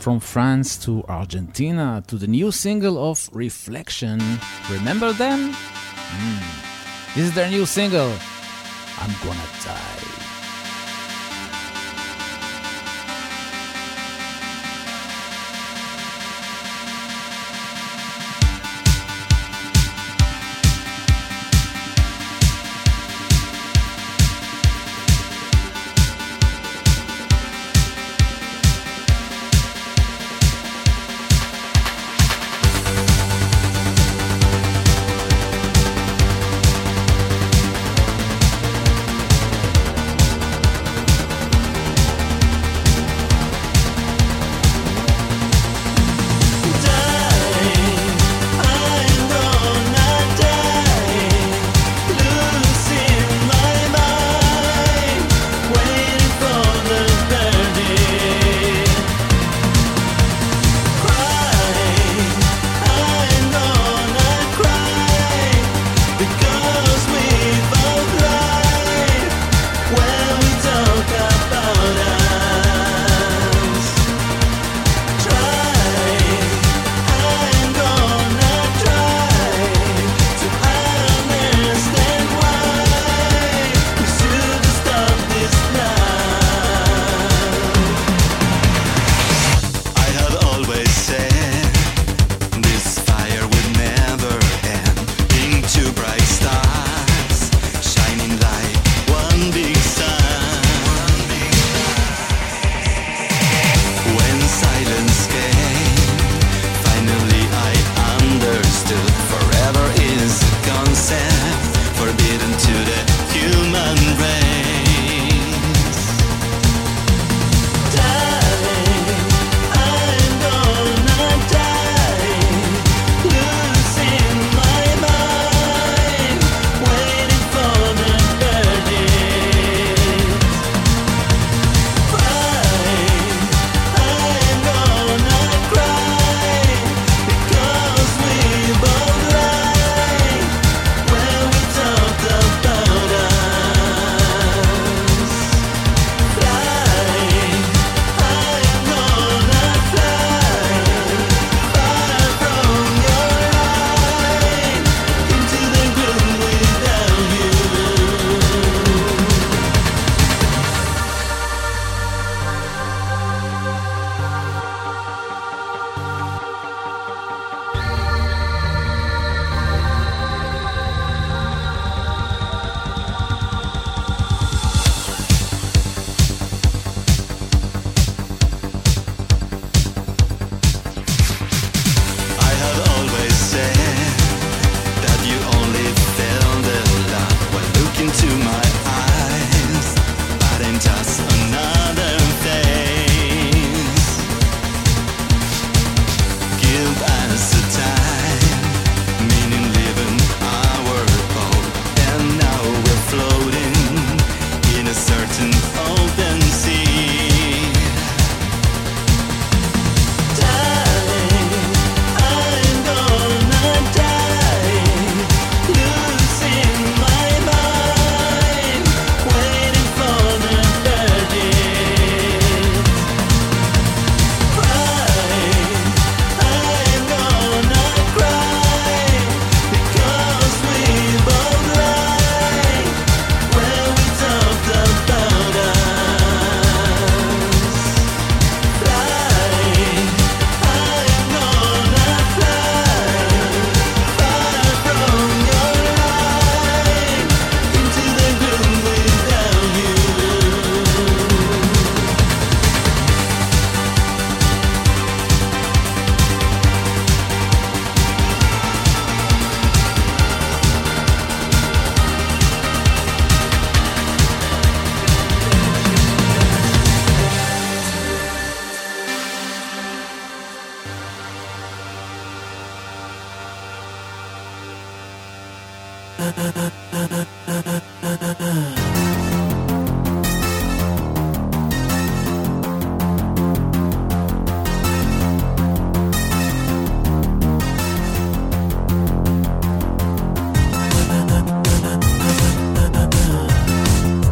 Speaker 3: from France to Argentina to the new single of Reflection. Remember them? This is their new single, I'm Gonna Die.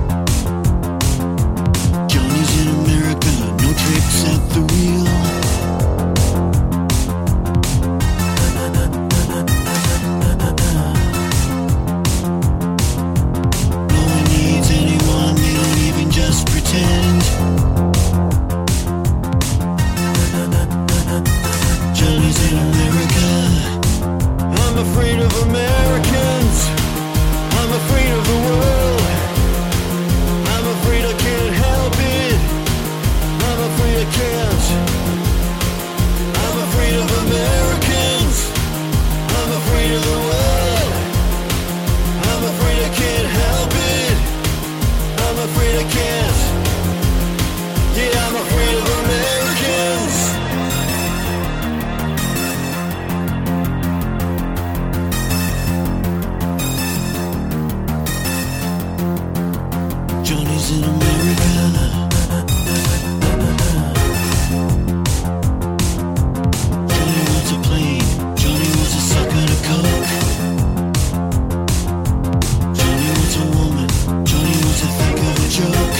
Speaker 12: Johnny's in America, no tricks at the wheel. in America. Johnny wants a plane. Johnny wants a sucker to coke. Johnny wants a woman. Johnny wants to think of a joke.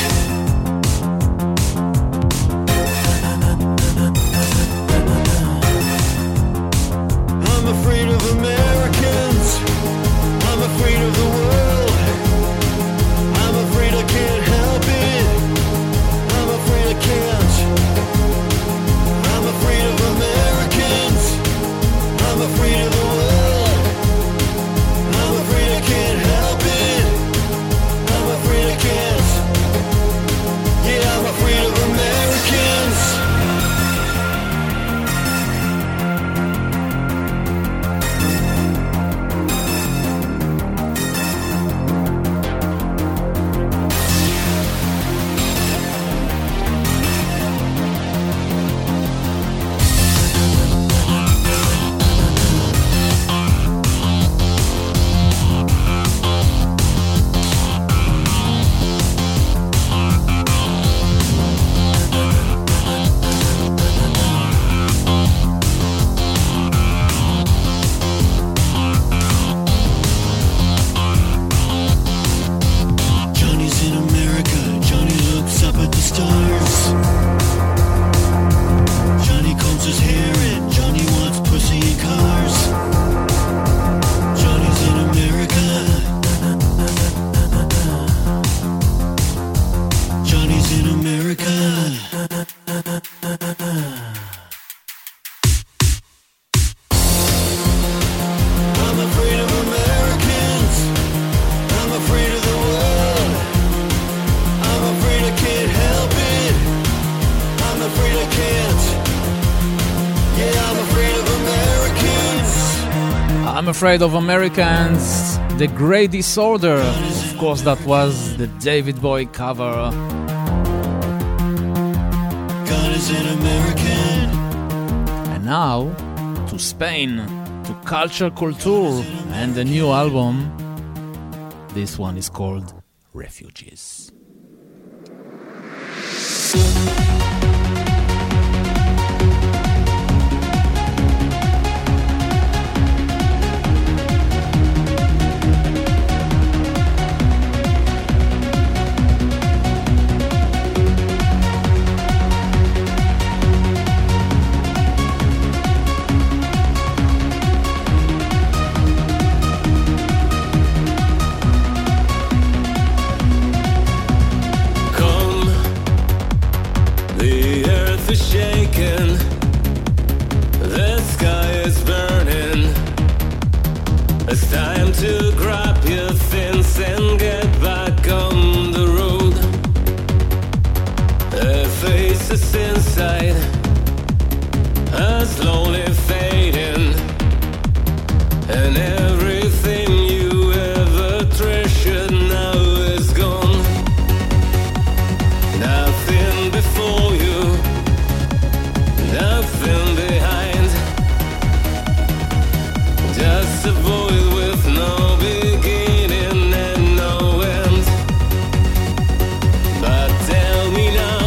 Speaker 12: I'm afraid of Americans. I'm afraid of the world. I'm afraid I can't help it. I'm afraid I can't. I'm afraid of Americans. I'm afraid of the world. I'm afraid I can't help it. I'm afraid I can't. Yeah, I'm afraid of Americans. Johnny's in America. Johnny looks up at the stars. Johnny combs his hair and Johnny wants pussy and cars. Johnny's in America. Johnny's in America. I'm afraid of Americans. I'm afraid of the world. I'm afraid I can't help it. I'm afraid I can't. Yeah, I'm afraid of Americans.
Speaker 3: I'm Afraid of Americans, The Grey Disorder. Of course, that was the David Bowie cover.
Speaker 12: God is an American.
Speaker 3: And now, to Spain, to Culture Culture, and the new album. This one is called Refugees.
Speaker 11: Come, the earth is shaking, the sky is burning. It's time to grab your things and get back on the road. The faces inside are slowly fading, and everything you ever treasured now is gone. Nothing before you, nothing behind. Just a void with no beginning and no end. But tell me now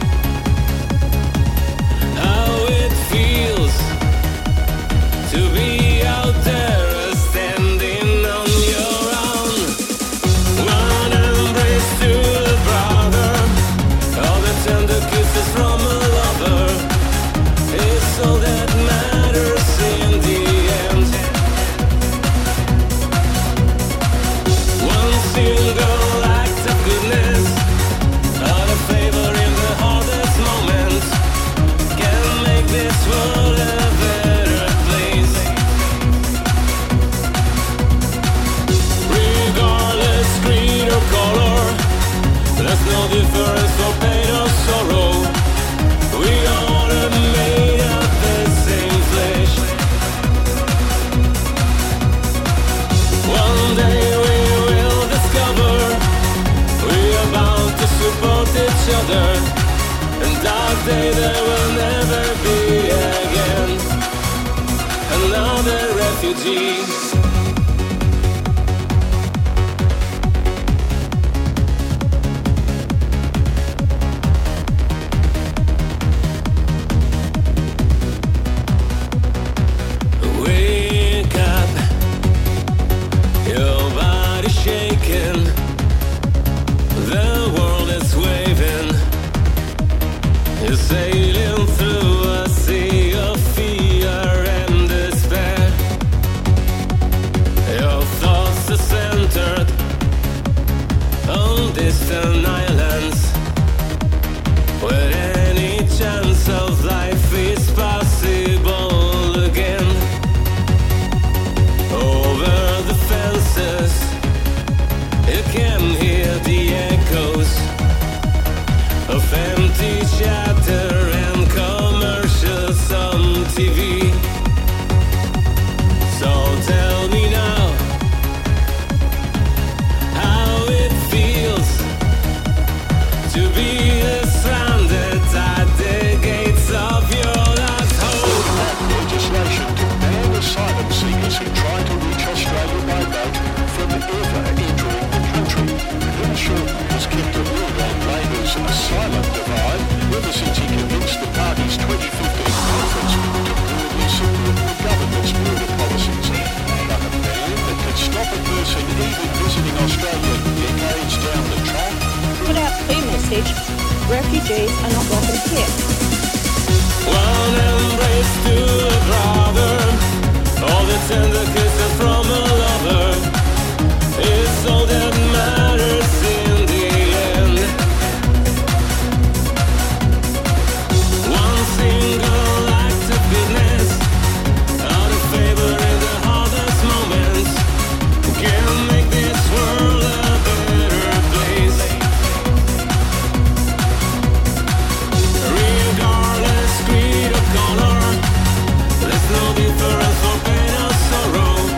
Speaker 11: how it feels to be out there standing on your own. One embrace to a brother, all the tender kisses from a lover. It's all that matters in the end. One single act of goodness, out of favor in the hardest moment, can make this world a better place. Regardless creed or color, there's no difference for pain or sorrow. We all are made of the same flesh. One day we will discover we are bound to support each other, and dark day there will never be again. Another refugee.
Speaker 9: shaking. The world is waving. You're sailing through a sea of fear and despair. Your thoughts are centered on distant islands, where any chance of life is possible again. Over the fences, you can hear the echoes of empty chatter and commercials on TV. So tell me now how it feels to be stranded at the gates of your last home.
Speaker 12: Legislation to ban asylum seekers who try to reach Australia by boat from ever entering the country. Bill Shorten has kept a lid on Labor's asylum divide ever since he convinced the party's 2015 conference to broadly support the government's border policies. But a ban that could stop a person even visiting Australia decades down the track.
Speaker 7: Put out the message, refugees are not welcome here.
Speaker 9: One embrace to a brother, all the tender kisses from a lover, it's all that matters in the end. One single act of goodness, out of favor in the hardest moments, can make this world a better place. Regardless creed or color, there's no difference for pain or sorrow.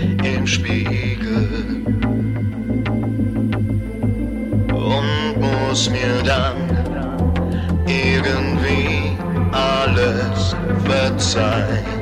Speaker 12: im Spiegel und muss mir dann irgendwie alles verzeihen.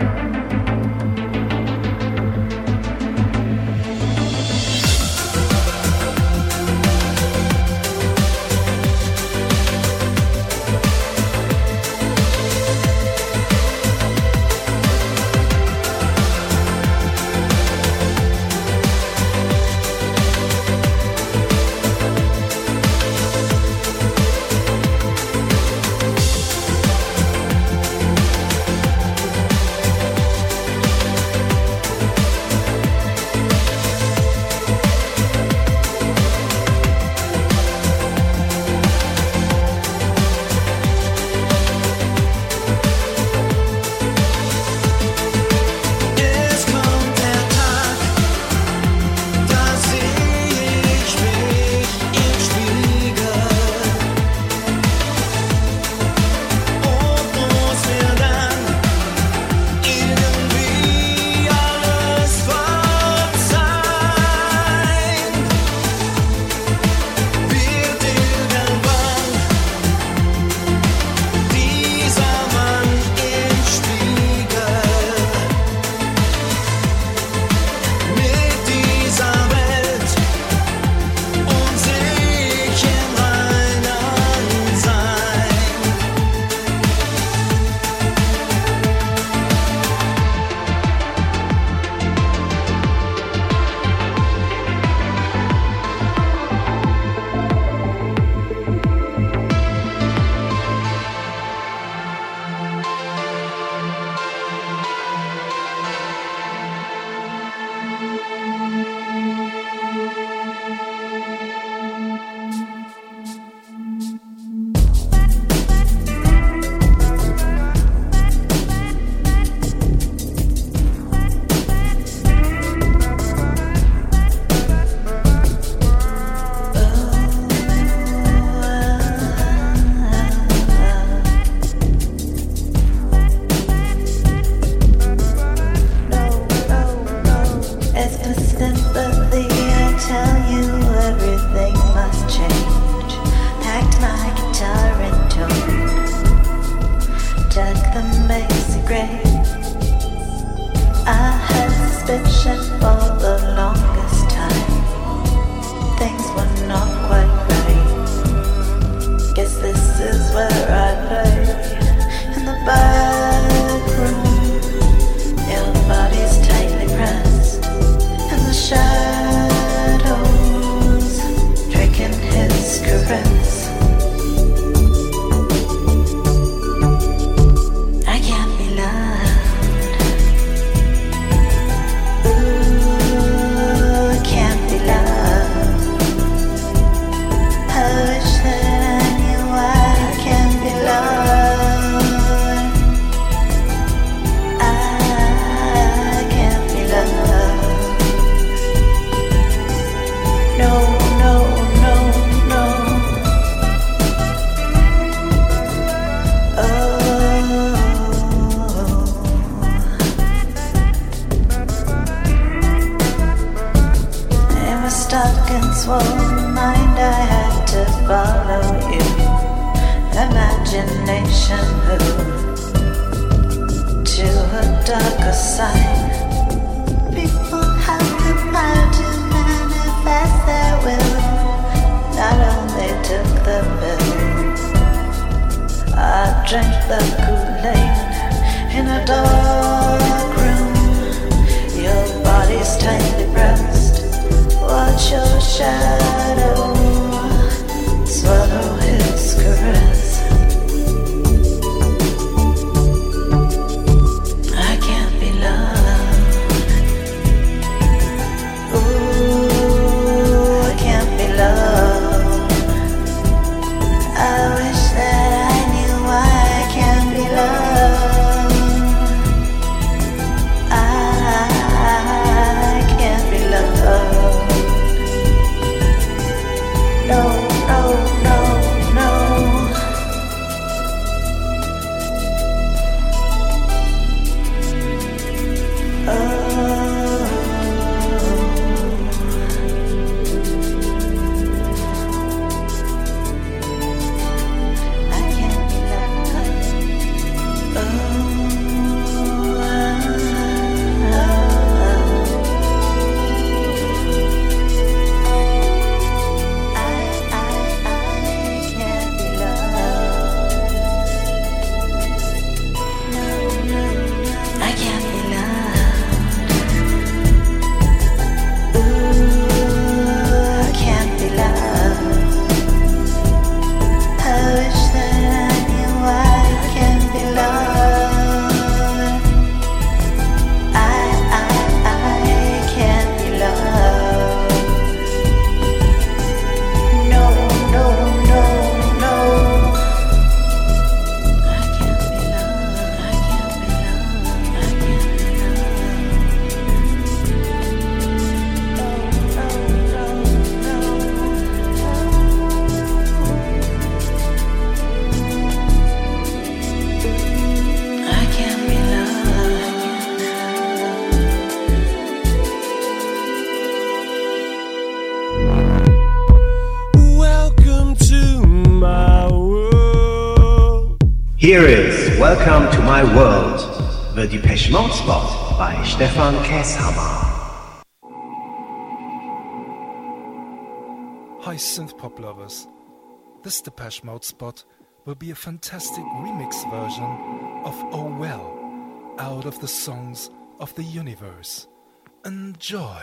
Speaker 6: I wish that I knew why I can't
Speaker 18: Here is Welcome to My World, the Depeche Mode spot by Stefan Käshammer.
Speaker 17: Hi synth pop lovers. This Depeche Mode spot will be a fantastic remix version of Oh Well, out of the songs of the universe. Enjoy!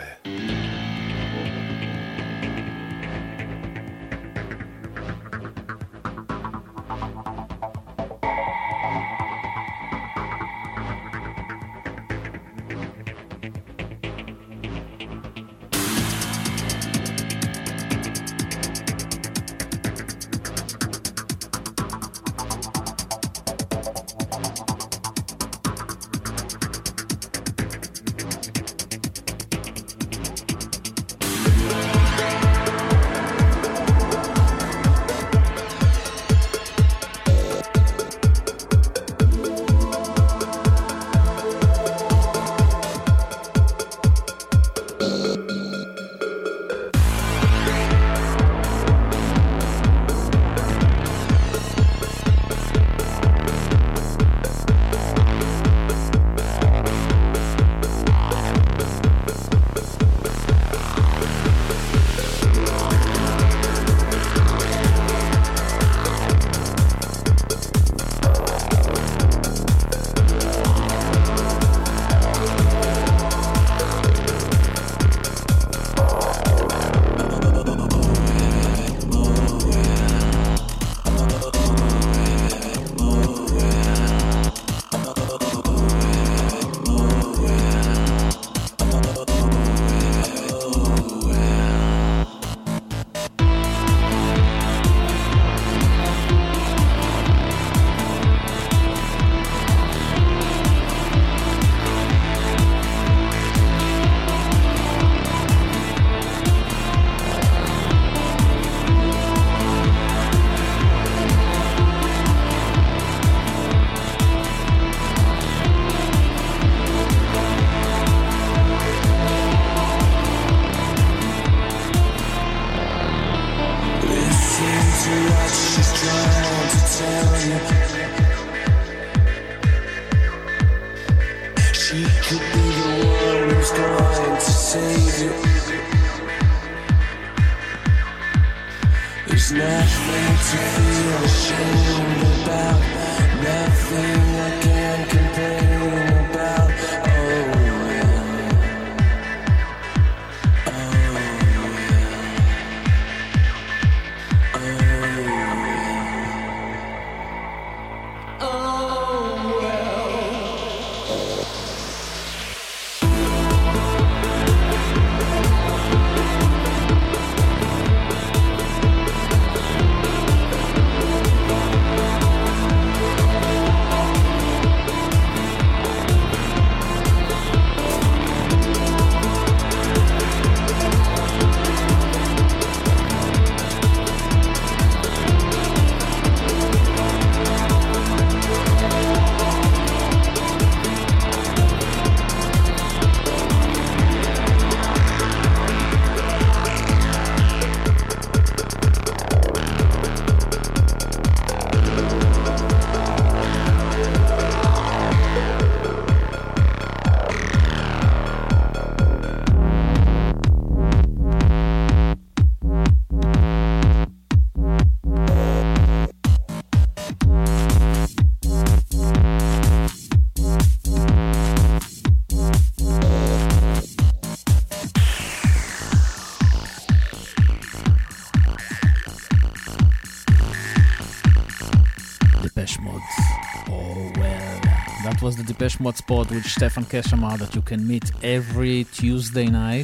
Speaker 3: Was the Depeche Mode spot with Stefan Käshammer that you can meet every Tuesday night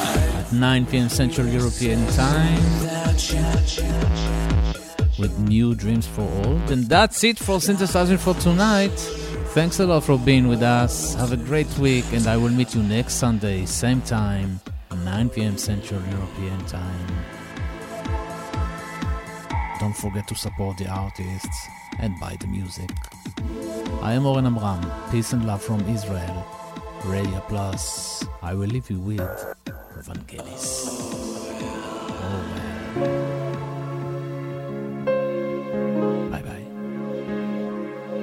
Speaker 3: at 9 p.m. Central European Time with new Dreams for Old. And that's it for Synthesizing for tonight. Thanks a lot for being with us. Have a great week, and I will meet you next Sunday, same time, 9 p.m. Central European Time. Don't forget to support the artists and buy the music. I am Oren Amram. Peace and love from Israel. Radio Plus. I will leave you with Vangelis. Oh, man. Bye-bye.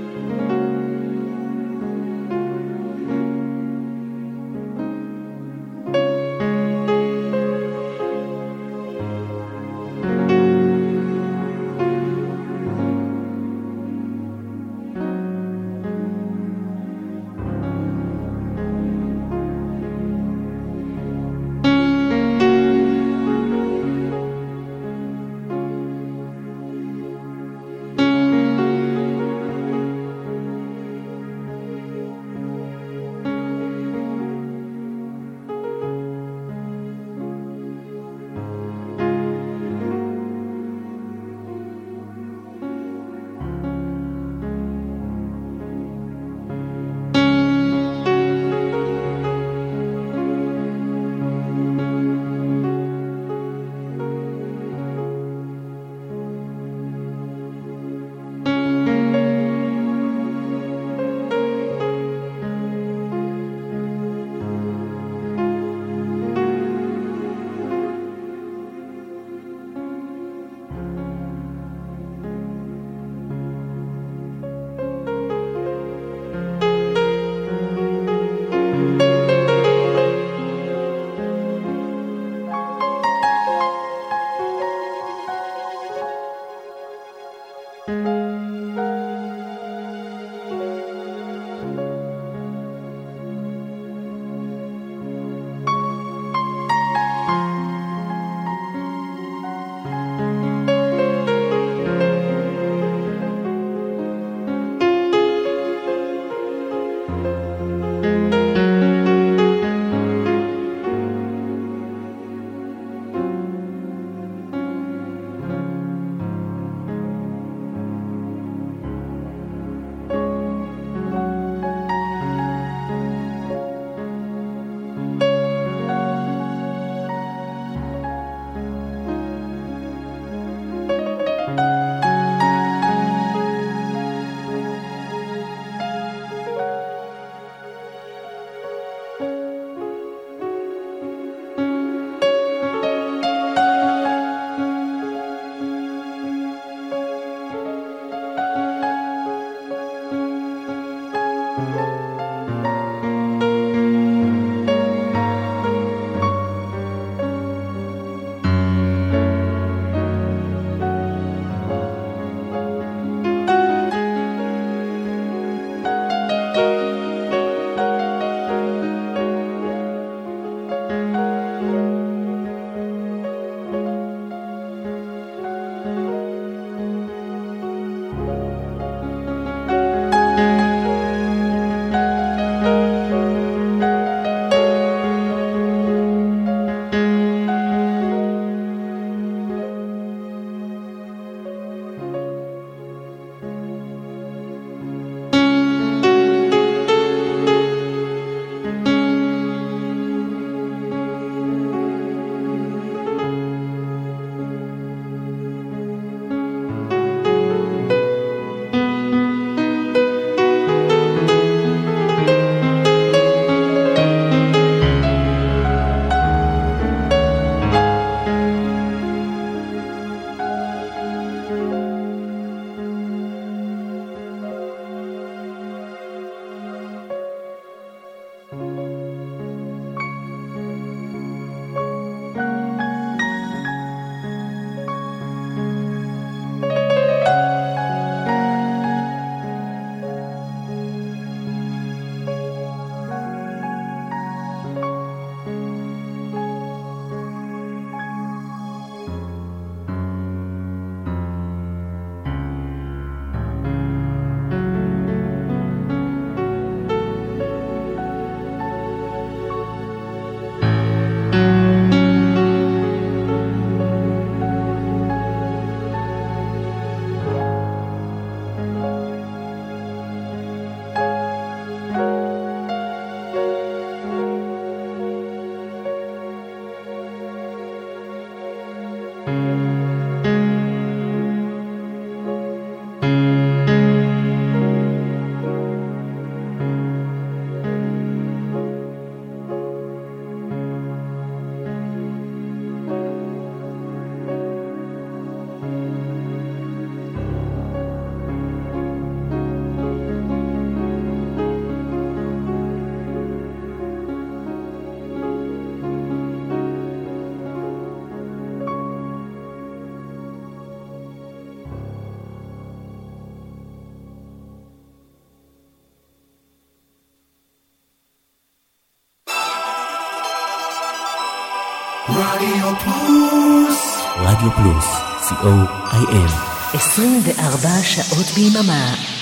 Speaker 1: רדיו פלוס. רדיו פלוס, co.il.
Speaker 2: 24 שעות ביממה.